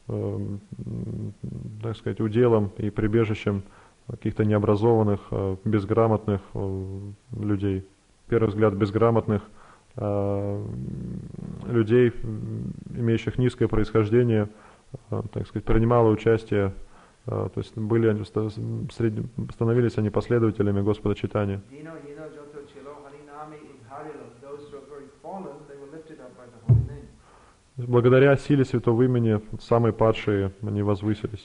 так сказать, уделом и прибежищем каких-то необразованных, безграмотных людей. Первый взгляд, безграмотных людей, имеющих низкое происхождение, так сказать, принимало участие то есть были они, становились они последователями Господа Чайтаньи. Благодаря силе святого имени самые падшие, они возвысились.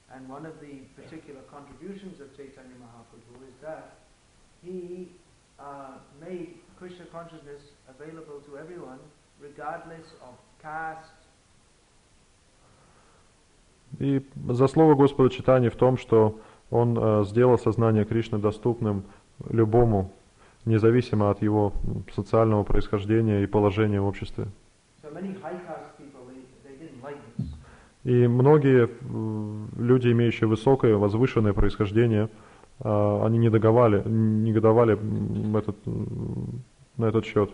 Krishna consciousness available to everyone, regardless of caste. И заслуга Господа Чайтаньи в том, что Он сделал сознание Кришны доступным любому, независимо от его социального происхождения и положения в обществе. И многие люди, имеющие высокое, возвышенное происхождение, они негодовали на этот счет.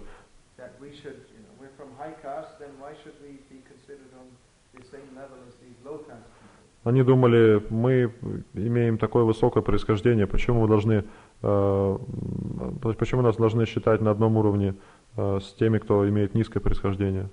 Они думали, мы имеем такое высокое происхождение, почему нас должны считать на одном уровне с теми, кто имеет низкое происхождение.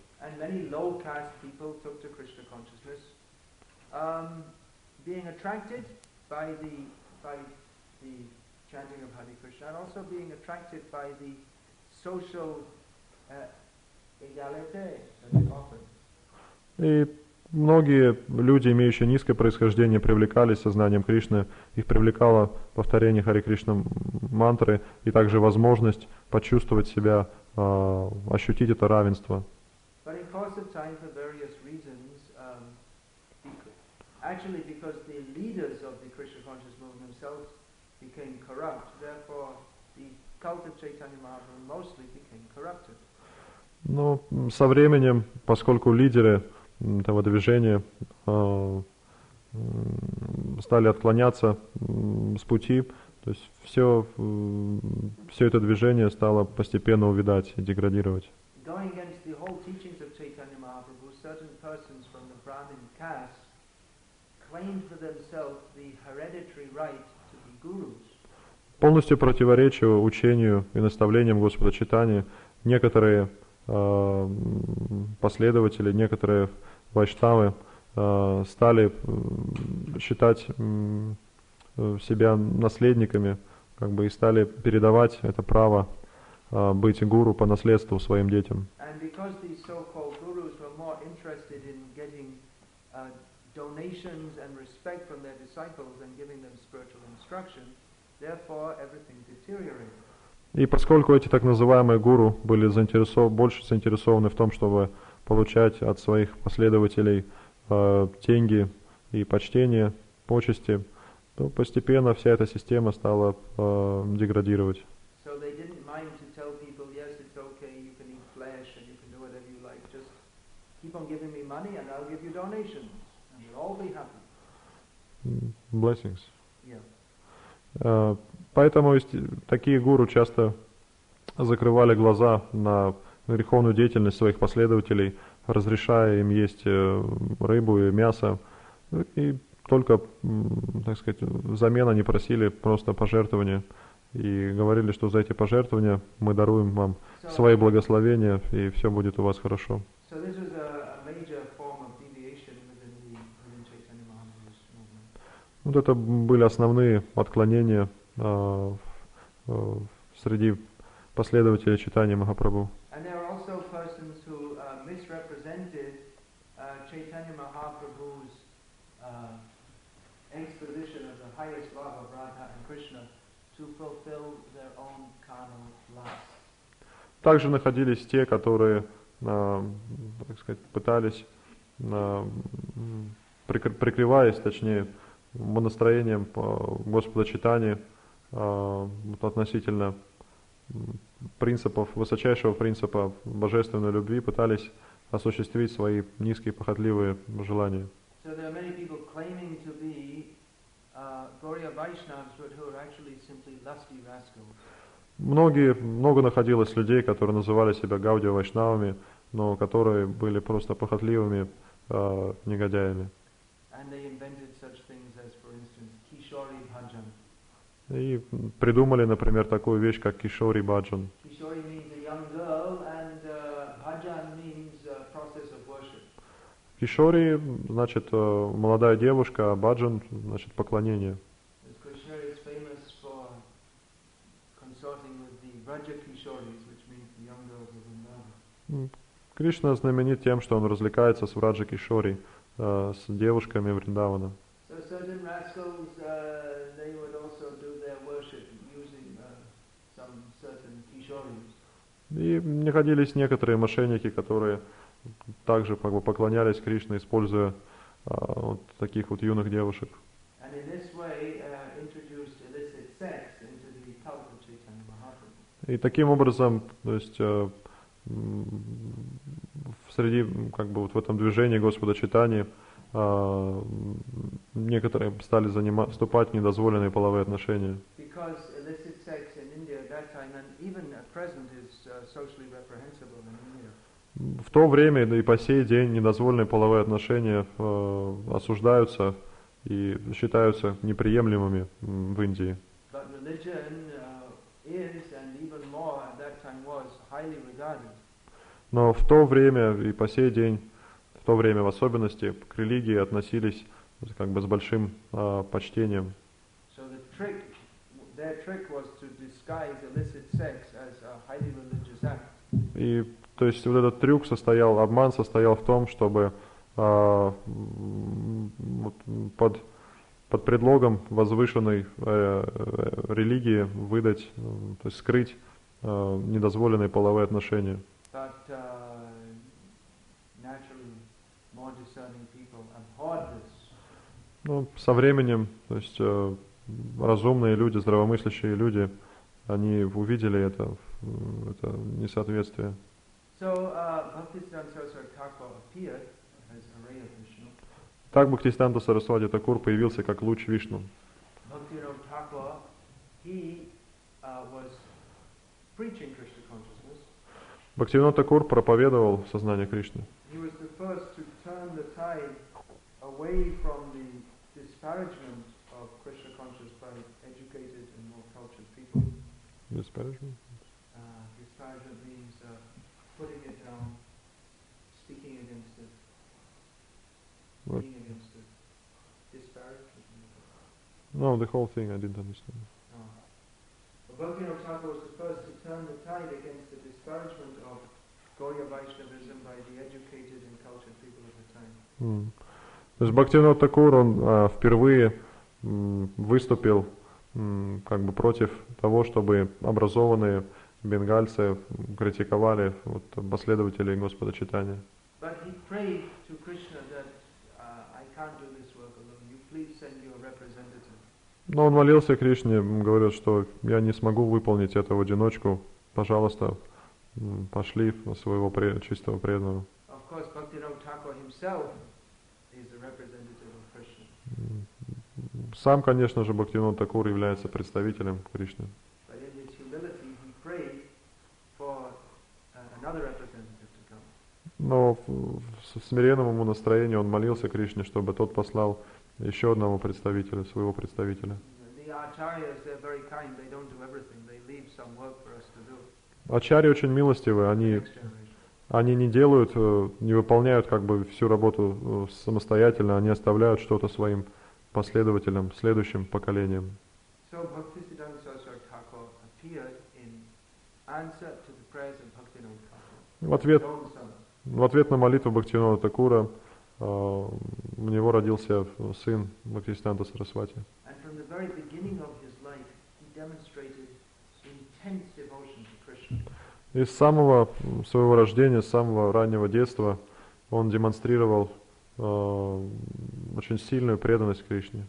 Chanting of Hare Krishna, and also being attracted by the social egalite that is offered. И многие люди, имеющие низкое происхождение, привлекались сознанием Кришны. Их привлекало повторение Харе Кришна мантры и также возможность почувствовать себя, ощутить это равенство. But in course of time, for various reasons, actually because the leaders of the Krishna conscious movement themselves became corrupt, therefore the cult of Chaitanya Mahaprabhu mostly became corrupted. Но со временем, поскольку лидеры этого движения стали отклоняться с пути, то есть все это движение стало постепенно увядать и деградировать. Going against the whole teachings of Chaitanya Mahaprabhu, certain persons from the Brahmin caste claimed for themselves the hereditary right to be gurus. Полностью противоречия учению и наставлениям Господа Чайтаньи, некоторые последователи, некоторые вайшнавы стали считать себя наследниками, как бы, и стали передавать это право быть гуру по наследству своим детям. И поскольку эти так называемые гуру были больше заинтересованы в том, чтобы получать от своих последователей деньги и почтение, почести, то постепенно вся эта система стала деградировать. Blessings. Поэтому такие гуру часто закрывали глаза на греховную деятельность своих последователей, разрешая им есть рыбу и мясо, и только, так сказать, взамен они просили просто пожертвования и говорили, что за эти пожертвования мы даруем вам свои благословения, и все будет у вас хорошо. Вот это были основные отклонения среди последователей Чайтаньи Махапрабху. Также находились те, которые, так сказать, пытались, прикрываясь, точнее, настроением Господа Чайтаньи относительно принципов, высочайшего принципа божественной любви, пытались осуществить свои низкие похотливые желания. Много находилось людей, которые называли себя Гаудия Вайшнавами, но которые были просто похотливыми негодяями. И придумали, например, такую вещь, как Кишори Баджан. Кишори, значит, молодая девушка, а баджан, значит, поклонение. As Krishna is famous for consorting with the Vraja Kishoris, which means the young girls of Vrindavan. Кришна знаменит тем, что он развлекается с Враджа Кишори, с девушками Вриндавана. So certain rascals, they would also do their worship using some certain kishoris. И находились некоторые мошенники, которые также поклонялись Кришне, используя вот таких вот юных девушек. And in this way, introduced illicit sex into the cult of Chaitanya Mahaprabhu. И таким образом, то есть среди, как бы вот в этом движении Господа Чайтаньи некоторые стали вступать в недозволенные половые отношения. Because illicit sex in India at that time and even at present is socially reprehensible in India. В то время, да и по сей день, недозволенные половые отношения осуждаются и считаются неприемлемыми в Индии. But religion is and even more at that time was highly regarded. Но в то время и по сей день, в то время в особенности, к религии относились как бы с большим почтением. So their trick was to disguise illicit sex as a highly religious act. И то есть вот этот трюк обман состоял в том, чтобы под предлогом возвышенной религии выдать, то есть скрыть недозволенные половые отношения. But naturally, more discerning people abhorred this. Ну, со временем, то есть разумные люди, здравомыслящие люди, они увидели это несоответствие. So Bhaktisiddhanta Saraswati Thakur appeared as a ray of Vishnu. Так Бхактисиданта Сарасвати Такур появился как луч Вишну. Bhaktivinoda Thakur, he was preaching Krishna consciousness. Бхактивинод Такур проповедовал сознание Кришны. He was the first to turn the tide away from the disparagement of Krishna consciousness by educated and more cultured people. Disparagement? Disparagement means putting it down, speaking against it, being against it. Disparagement. No, the whole thing I didn't understand. Bhaktivinoda Thakur was the first to turn the tide against the disparagement of Gaudiya Vaishnavism by the educated and cultured people of the time. То есть Бхактивинод Такур, он впервые выступил как бы против того, чтобы образованные бенгальцы критиковали вот, последователей Господа Чайтаньи. But he prayed to Krishna that I can't do this work alone. You please send your representative. Но он молился Кришне, говорит, что я не смогу выполнить это в одиночку. Пожалуйста, пошли своего чистого преданного. Of course, Bhaktivinoda Thakur himself is the representative of Krishna. Сам, конечно же, Бхактивинод Такур является представителем Кришны. But in his humility, he prayed for another representative to come. Но в смиренном ему настроении он молился Кришне, чтобы тот послал еще одного представителя, своего представителя. The acharyas, they're very kind. They don't do everything. They leave some work for us to do. Ачарьи очень милостивы, они не делают, не выполняют как бы всю работу самостоятельно, они оставляют что-то своим последователям, следующим поколениям. So Bhaktisiddhanta Saraswati Thakur appeared in answer to the prayers of Bhaktivinoda Thakur. В ответ на молитву Бхактивинода Такура у него родился сын Бхактисиданта Сарасвати. And from the very beginning of his life, he demonstrated intense devotion to Krishna. И с самого своего рождения, с самого раннего детства он демонстрировал очень сильную преданность Кришне.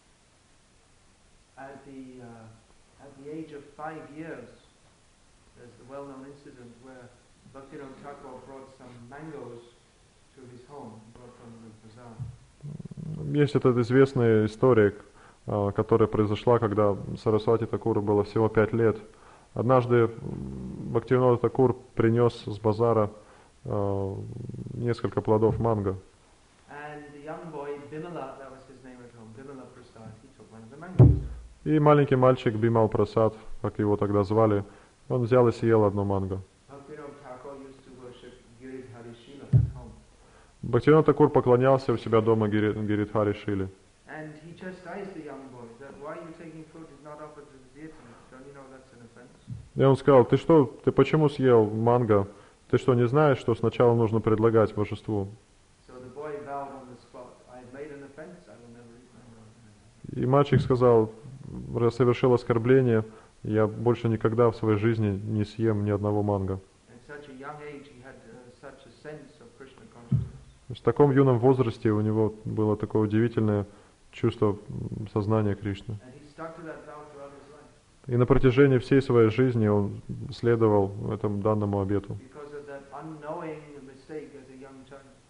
At the age of 5 years, there's the well-known incident where Bhaktivinoda Thakur brought some mangoes to his home, brought from the bazaar. Есть эта известная история, которая произошла, когда Сарасвати Такуру было всего 5 лет. Однажды Бхактивинода Такур принес с базара несколько плодов манго. И маленький мальчик Бимал Прасад, как его тогда звали, он взял и съел одно манго. Бхактивинода Такур поклонялся у себя дома Гиридхари Шиле. And he chastised the young boy that why you taking fruit is not offered to the deity. Don't you know that's an offense? И он сказал, ты почему съел манго? Ты что, не знаешь, что сначала нужно предлагать божеству? So the boy vowed on the spot, I have made an offense, I will never eat mango. И мальчик сказал, совершил оскорбление, я больше никогда в своей жизни не съем ни одного манго. At such a young age he had such a sense of Krishna consciousness. В таком юном возрасте у него было такое удивительное чувство сознания Кришны. And he stuck to that vow throughout his life. И на протяжении всей своей жизни он следовал этому данному обету. Because of that unknowing mistake as a young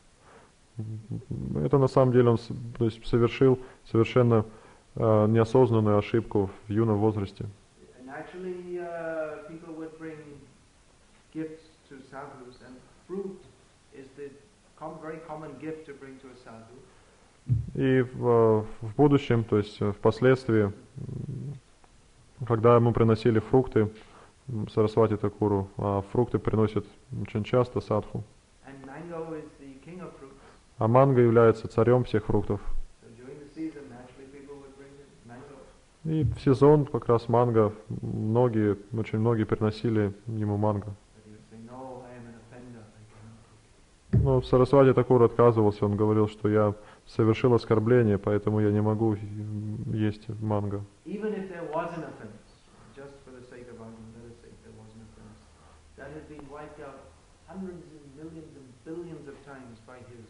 child. Это на самом деле он то есть, совершил совершенно неосознанную ошибку в юном возрасте. And actually people would bring gifts to sadhus, and fruit is the very common gift to bring to a sadhu. И в будущем, то есть впоследствии, когда ему приносили фрукты Сарасвати Такуру, а фрукты приносят очень часто садху. And mango is the king of fruits. А манго является царем всех фруктов. So during the season, naturally people would bring mango. И в сезон как раз манго, очень многие приносили ему манго. But he would say, no, I am an offender, I cannot. Но Сарасвати Такур отказывался, он говорил, что я совершил оскорбление, поэтому я не могу есть манго. Even if there was an offense, just for the sake of argument, let us say there was an offense, that has been wiped out hundreds and millions and billions of times by his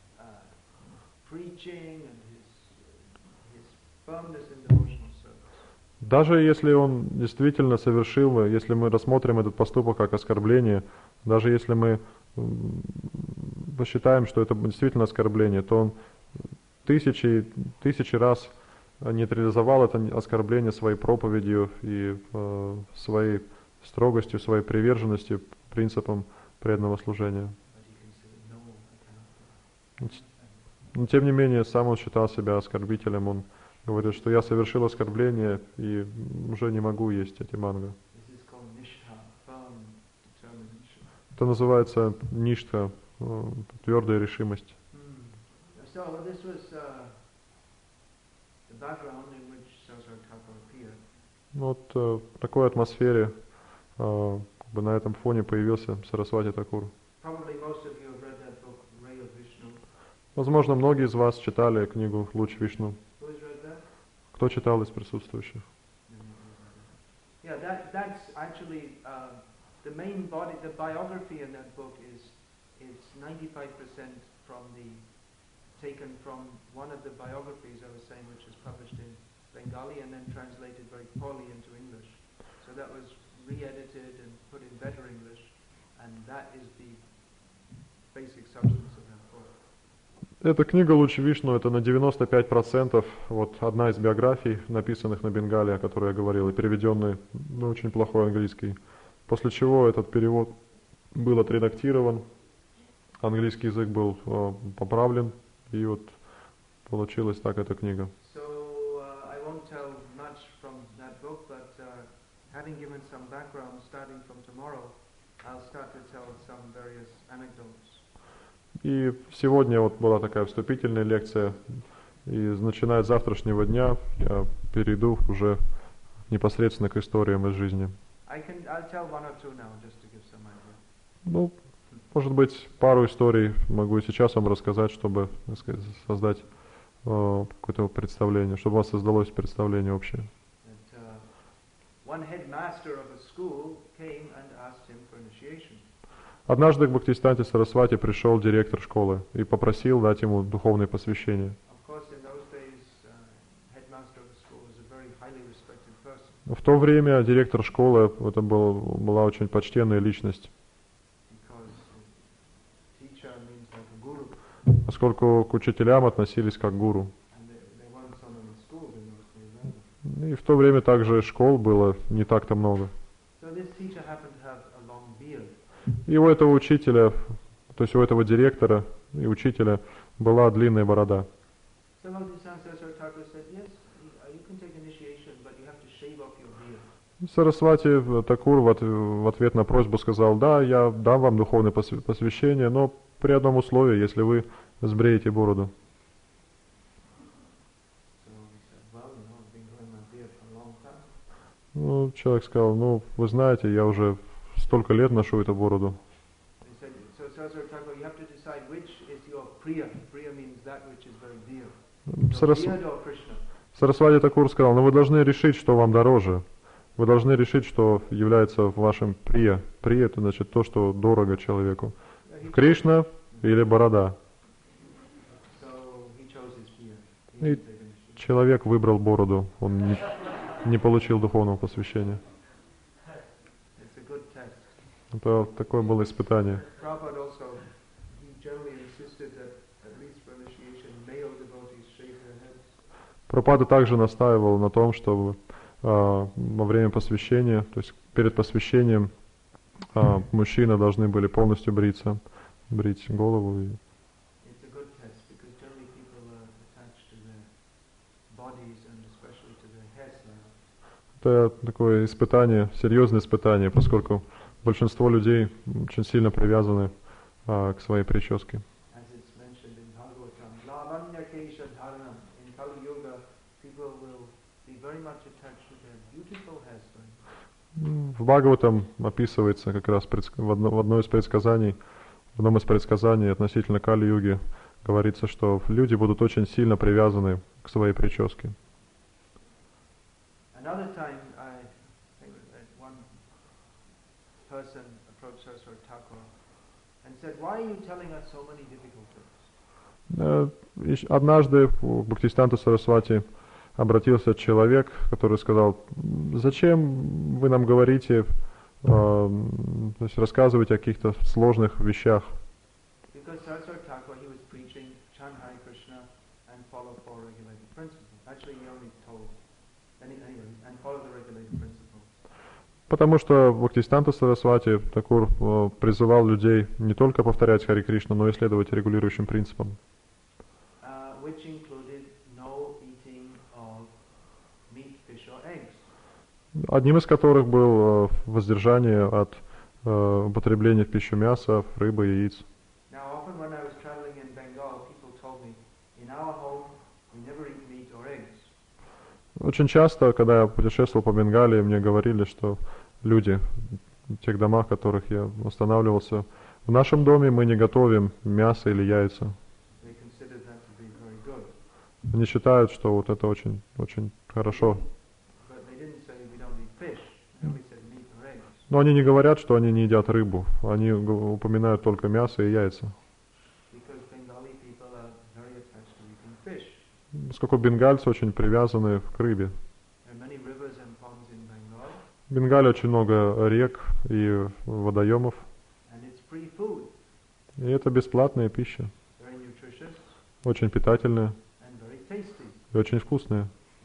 preaching and his firmness in devotional service. Даже если он действительно совершил, если мы рассмотрим этот поступок как оскорбление, даже если мы посчитаем, что это действительно оскорбление, то он тысячи раз нейтрализовал это оскорбление своей проповедью и своей строгостью, своей приверженностью принципам преданного служения. Но тем не менее, сам он считал себя оскорбителем, он говорит, что я совершил оскорбление и уже не могу есть эти манго. Это называется ништха, твердая решимость. Вот в такой атмосфере на этом фоне появился Сарасвати Такур. Возможно, многие из вас читали книгу «Луч Вишну». Кто читал из присутствующих? The main body, the biography in that book is 95% taken from one of the biographies I was saying, which is published in Bengali and then translated very poorly into English. So that was re-edited and put in better English, and that is the basic substance of that book. Эта книга «Луч Вишну» — это на 95% вот одна из биографий, написанных на бенгале, о которой я говорил, и переведенной на очень плохой английский. После чего этот перевод был отредактирован, английский язык был поправлен, и вот получилась так эта книга. So I won't tell much from that book, but having given some background, starting from tomorrow, I'll start to tell some various anecdotes. И сегодня вот была такая вступительная лекция, и начиная с завтрашнего дня я перейду уже непосредственно к историям из жизни. I'll tell one or two now, just to give some idea. Ну, может быть, пару историй могу сейчас вам рассказать, чтобы, так сказать, создать какое-то представление, чтобы у вас создалось представление общее. One headmaster of a school came and asked him for initiation. Однажды к Бхактисиданте Сарасвати пришел директор школы и попросил дать ему духовное посвящение. В то время директор школы это была очень почтенная личность, поскольку к учителям относились как к гуру. И в то время также школ было не так-то много. И у этого учителя, то есть у этого директора и учителя была длинная борода. Сарасвати Такур в ответ на просьбу сказал: да, я дам вам духовное посвящение, но при одном условии, если вы сбреете бороду. Ну, человек сказал, ну, вы знаете, я уже столько лет ношу эту бороду. Сарасвати Такур сказал, но вы должны решить, что вам дороже. Вы должны решить, что является вашим прия. Прия — это значит то, что дорого человеку. Кришна или борода. И человек выбрал бороду, он не получил духовного посвящения. Это такое было испытание. Прабхупада также настаивал на том, чтобы во время посвящения, то есть перед посвящением, мужчины должны были полностью бриться, брить голову. Это такое испытание, серьезное испытание, поскольку большинство людей очень сильно привязаны к своей прическе. В Бхагаватам описывается как раз в одном из предсказаний относительно Кали-юги говорится, что люди будут очень сильно привязаны к своей прическе. Однажды к Бхактисиддханта Сарасвати обратился человек, который сказал, зачем вы нам говорите, то есть рассказываете о каких-то сложных вещах. Потому что Бхактисиддханта Сарасвати Такур призывал людей не только повторять Хари Кришна, но и следовать регулирующим принципам. Одним из которых было воздержание от употребления в пищу мяса, рыбы и яиц. Очень часто, когда я путешествовал по Бенгалии, мне говорили, что люди в тех домах, в которых я останавливался, в нашем доме мы не готовим мясо или яйца. Они считают, что вот это очень, очень хорошо. Но они не говорят, что они не едят рыбу. Они упоминают только мясо и яйца. Поскольку бенгальцы очень привязаны к рыбе. В Бенгале очень много рек и водоемов. И это бесплатная пища. Очень питательная. И очень вкусная.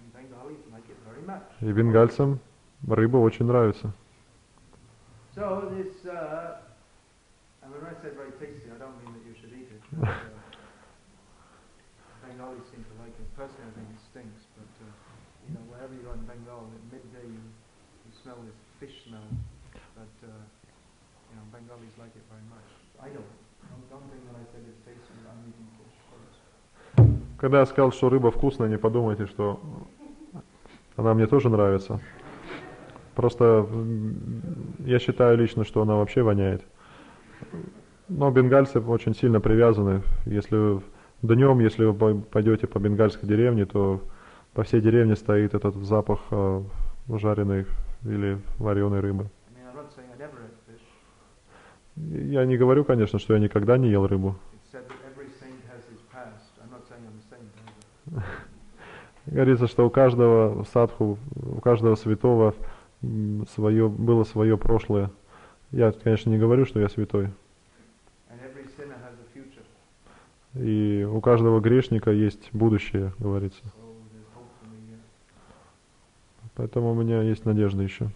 И бенгальцам рыба очень нравится. So this, and when I say very tasty, I don't mean that you should eat it. Bengalis seem to like it. Personally, I think it stinks, but you know, wherever you go in Bengal, at midday you smell this fish smell. But you know, Bengalis like it very much. I don't think that I said it's tasty. I'm eating fish. Когда я сказал, что рыба вкусная, не подумайте, что она мне тоже нравится. Просто я считаю лично, что она вообще воняет. Но бенгальцы очень сильно привязаны. Если днем, если вы пойдете по бенгальской деревне, то по всей деревне стоит этот запах жареной или вареной рыбы. Я не говорю, конечно, что я никогда не ел рыбу. Говорится, что у каждого садху, у каждого святого было свое прошлое. Я, конечно, не говорю, что я святой. И у каждого грешника есть будущее, говорится. Поэтому у меня есть надежда еще.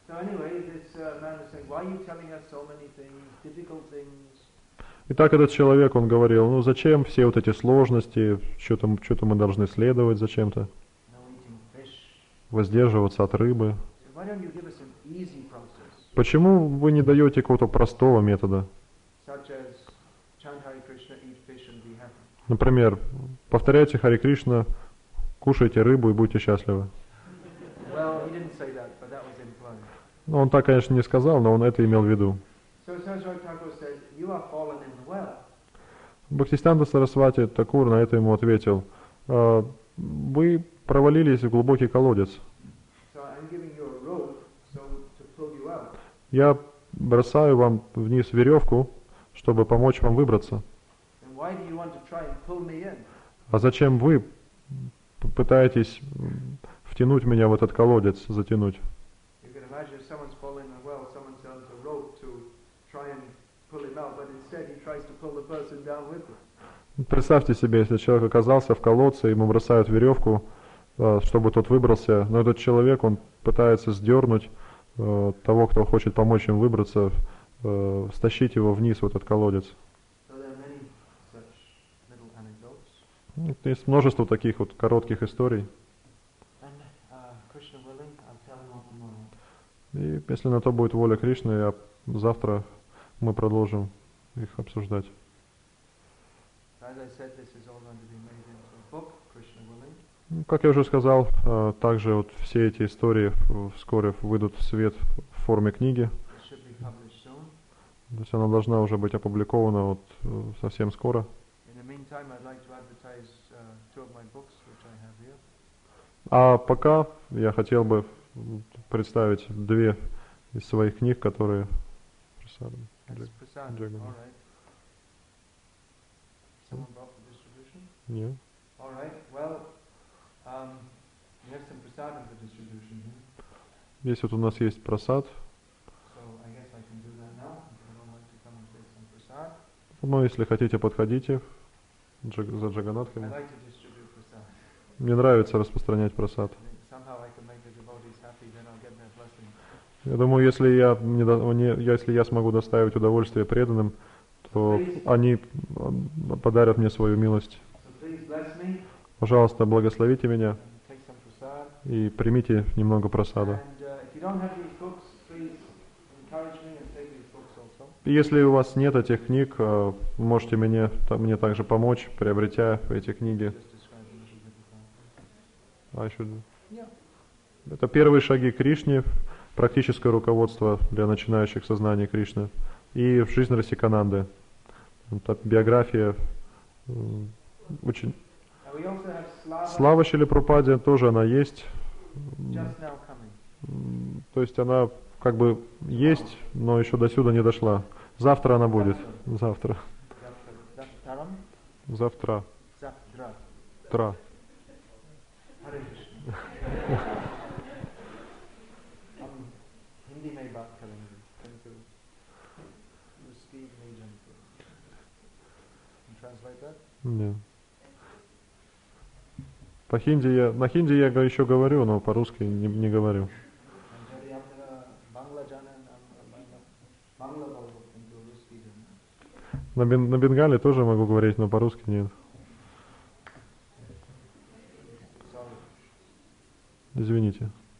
Итак, этот человек, он говорил, ну зачем все вот эти сложности, что-то мы должны следовать зачем-то, воздерживаться от рыбы. Почему вы не даете какого-то простого метода? fish and be happy. Например, повторяйте Харе Кришна, кушайте рыбу и будьте счастливы. Well, he didn't say that, but that was implied. Ну, он так, конечно, не сказал, но он это имел в виду. So Saraswati Thakur said, you are fallen in the well. Бхактисиданта Сарасвати Такур на это ему ответил: вы провалились в глубокий колодец. So I'm giving you a rope so to pull you out. Я бросаю вам вниз веревку, чтобы помочь вам выбраться. And why do you want to try and pull me in? А зачем вы пытаетесь втянуть меня в этот колодец, затянуть? You can imagine if someone's fallen in a well, someone sends a rope to try and pull him out, but instead he tries to pull the person down with him. Представьте себе, если человек оказался в колодце, ему бросают веревку, чтобы тот выбрался, но этот человек, он пытается сдернуть того, кто хочет помочь им выбраться, стащить его вниз в этот колодец. So there are many such little anecdotes. Есть множество таких вот коротких историй. And Krishna willing, I'll tell him all tomorrow. И если на то будет воля Кришны, завтра мы продолжим их обсуждать. As I said, this is all going to be made into a book, Krishna willing. Как я уже сказал, также вот все эти истории вскоре выйдут в свет в форме книги. It should be published soon. То есть она должна уже быть опубликована вот совсем скоро. In the meantime, I'd like to advertise two of my books, which I have here. А пока я хотел бы представить две из своих книг, которые... That's Prasad. Jagan. All right. Someone brought for distribution? Нет. All right. Well, we have some prasadam for distribution here. Здесь вот у нас есть прасад. So I guess I can do that now. If anyone wants to come and take some prasad. Ну, если хотите, подходите за I Джаганатхами. like to distribute prasad. Мне нравится распространять прасад. I think somehow I can make the devotees happy, then I'll get their blessing. Я думаю, если я смогу доставить удовольствие преданным, то они подарят мне свою милость. So please bless me Пожалуйста, благословите меня and take some prasad. и примите немного прасада. And if you don't have these books, please encourage me and take these books also. И если у вас нет этих книг, можете мне также помочь, приобретя эти книги. Just describe them a little bit. Yeah. Это первые шаги Кришне, практическое руководство для начинающих сознания Кришны. И в жизнь Расикананды. Это биография очень... And we also have Slava, Слава Шриле Прабхупаде тоже она есть. just now coming. То есть она как бы есть, но еще до сюда не дошла. Завтра она будет. Завтра. Zaptaram? Завтра. Zaptra. Тра. Hare Krishna. Hindi mein baat karenge. Thank you. Ruski nahi jante. Can you translate that? Не. На хинди я еще говорю, но по-русски не говорю. And jadi apna Bangla janan, Bangla bolo, kintu Ruski janan. На бенгале тоже могу говорить, но по-русски нет. Sorry. Извините.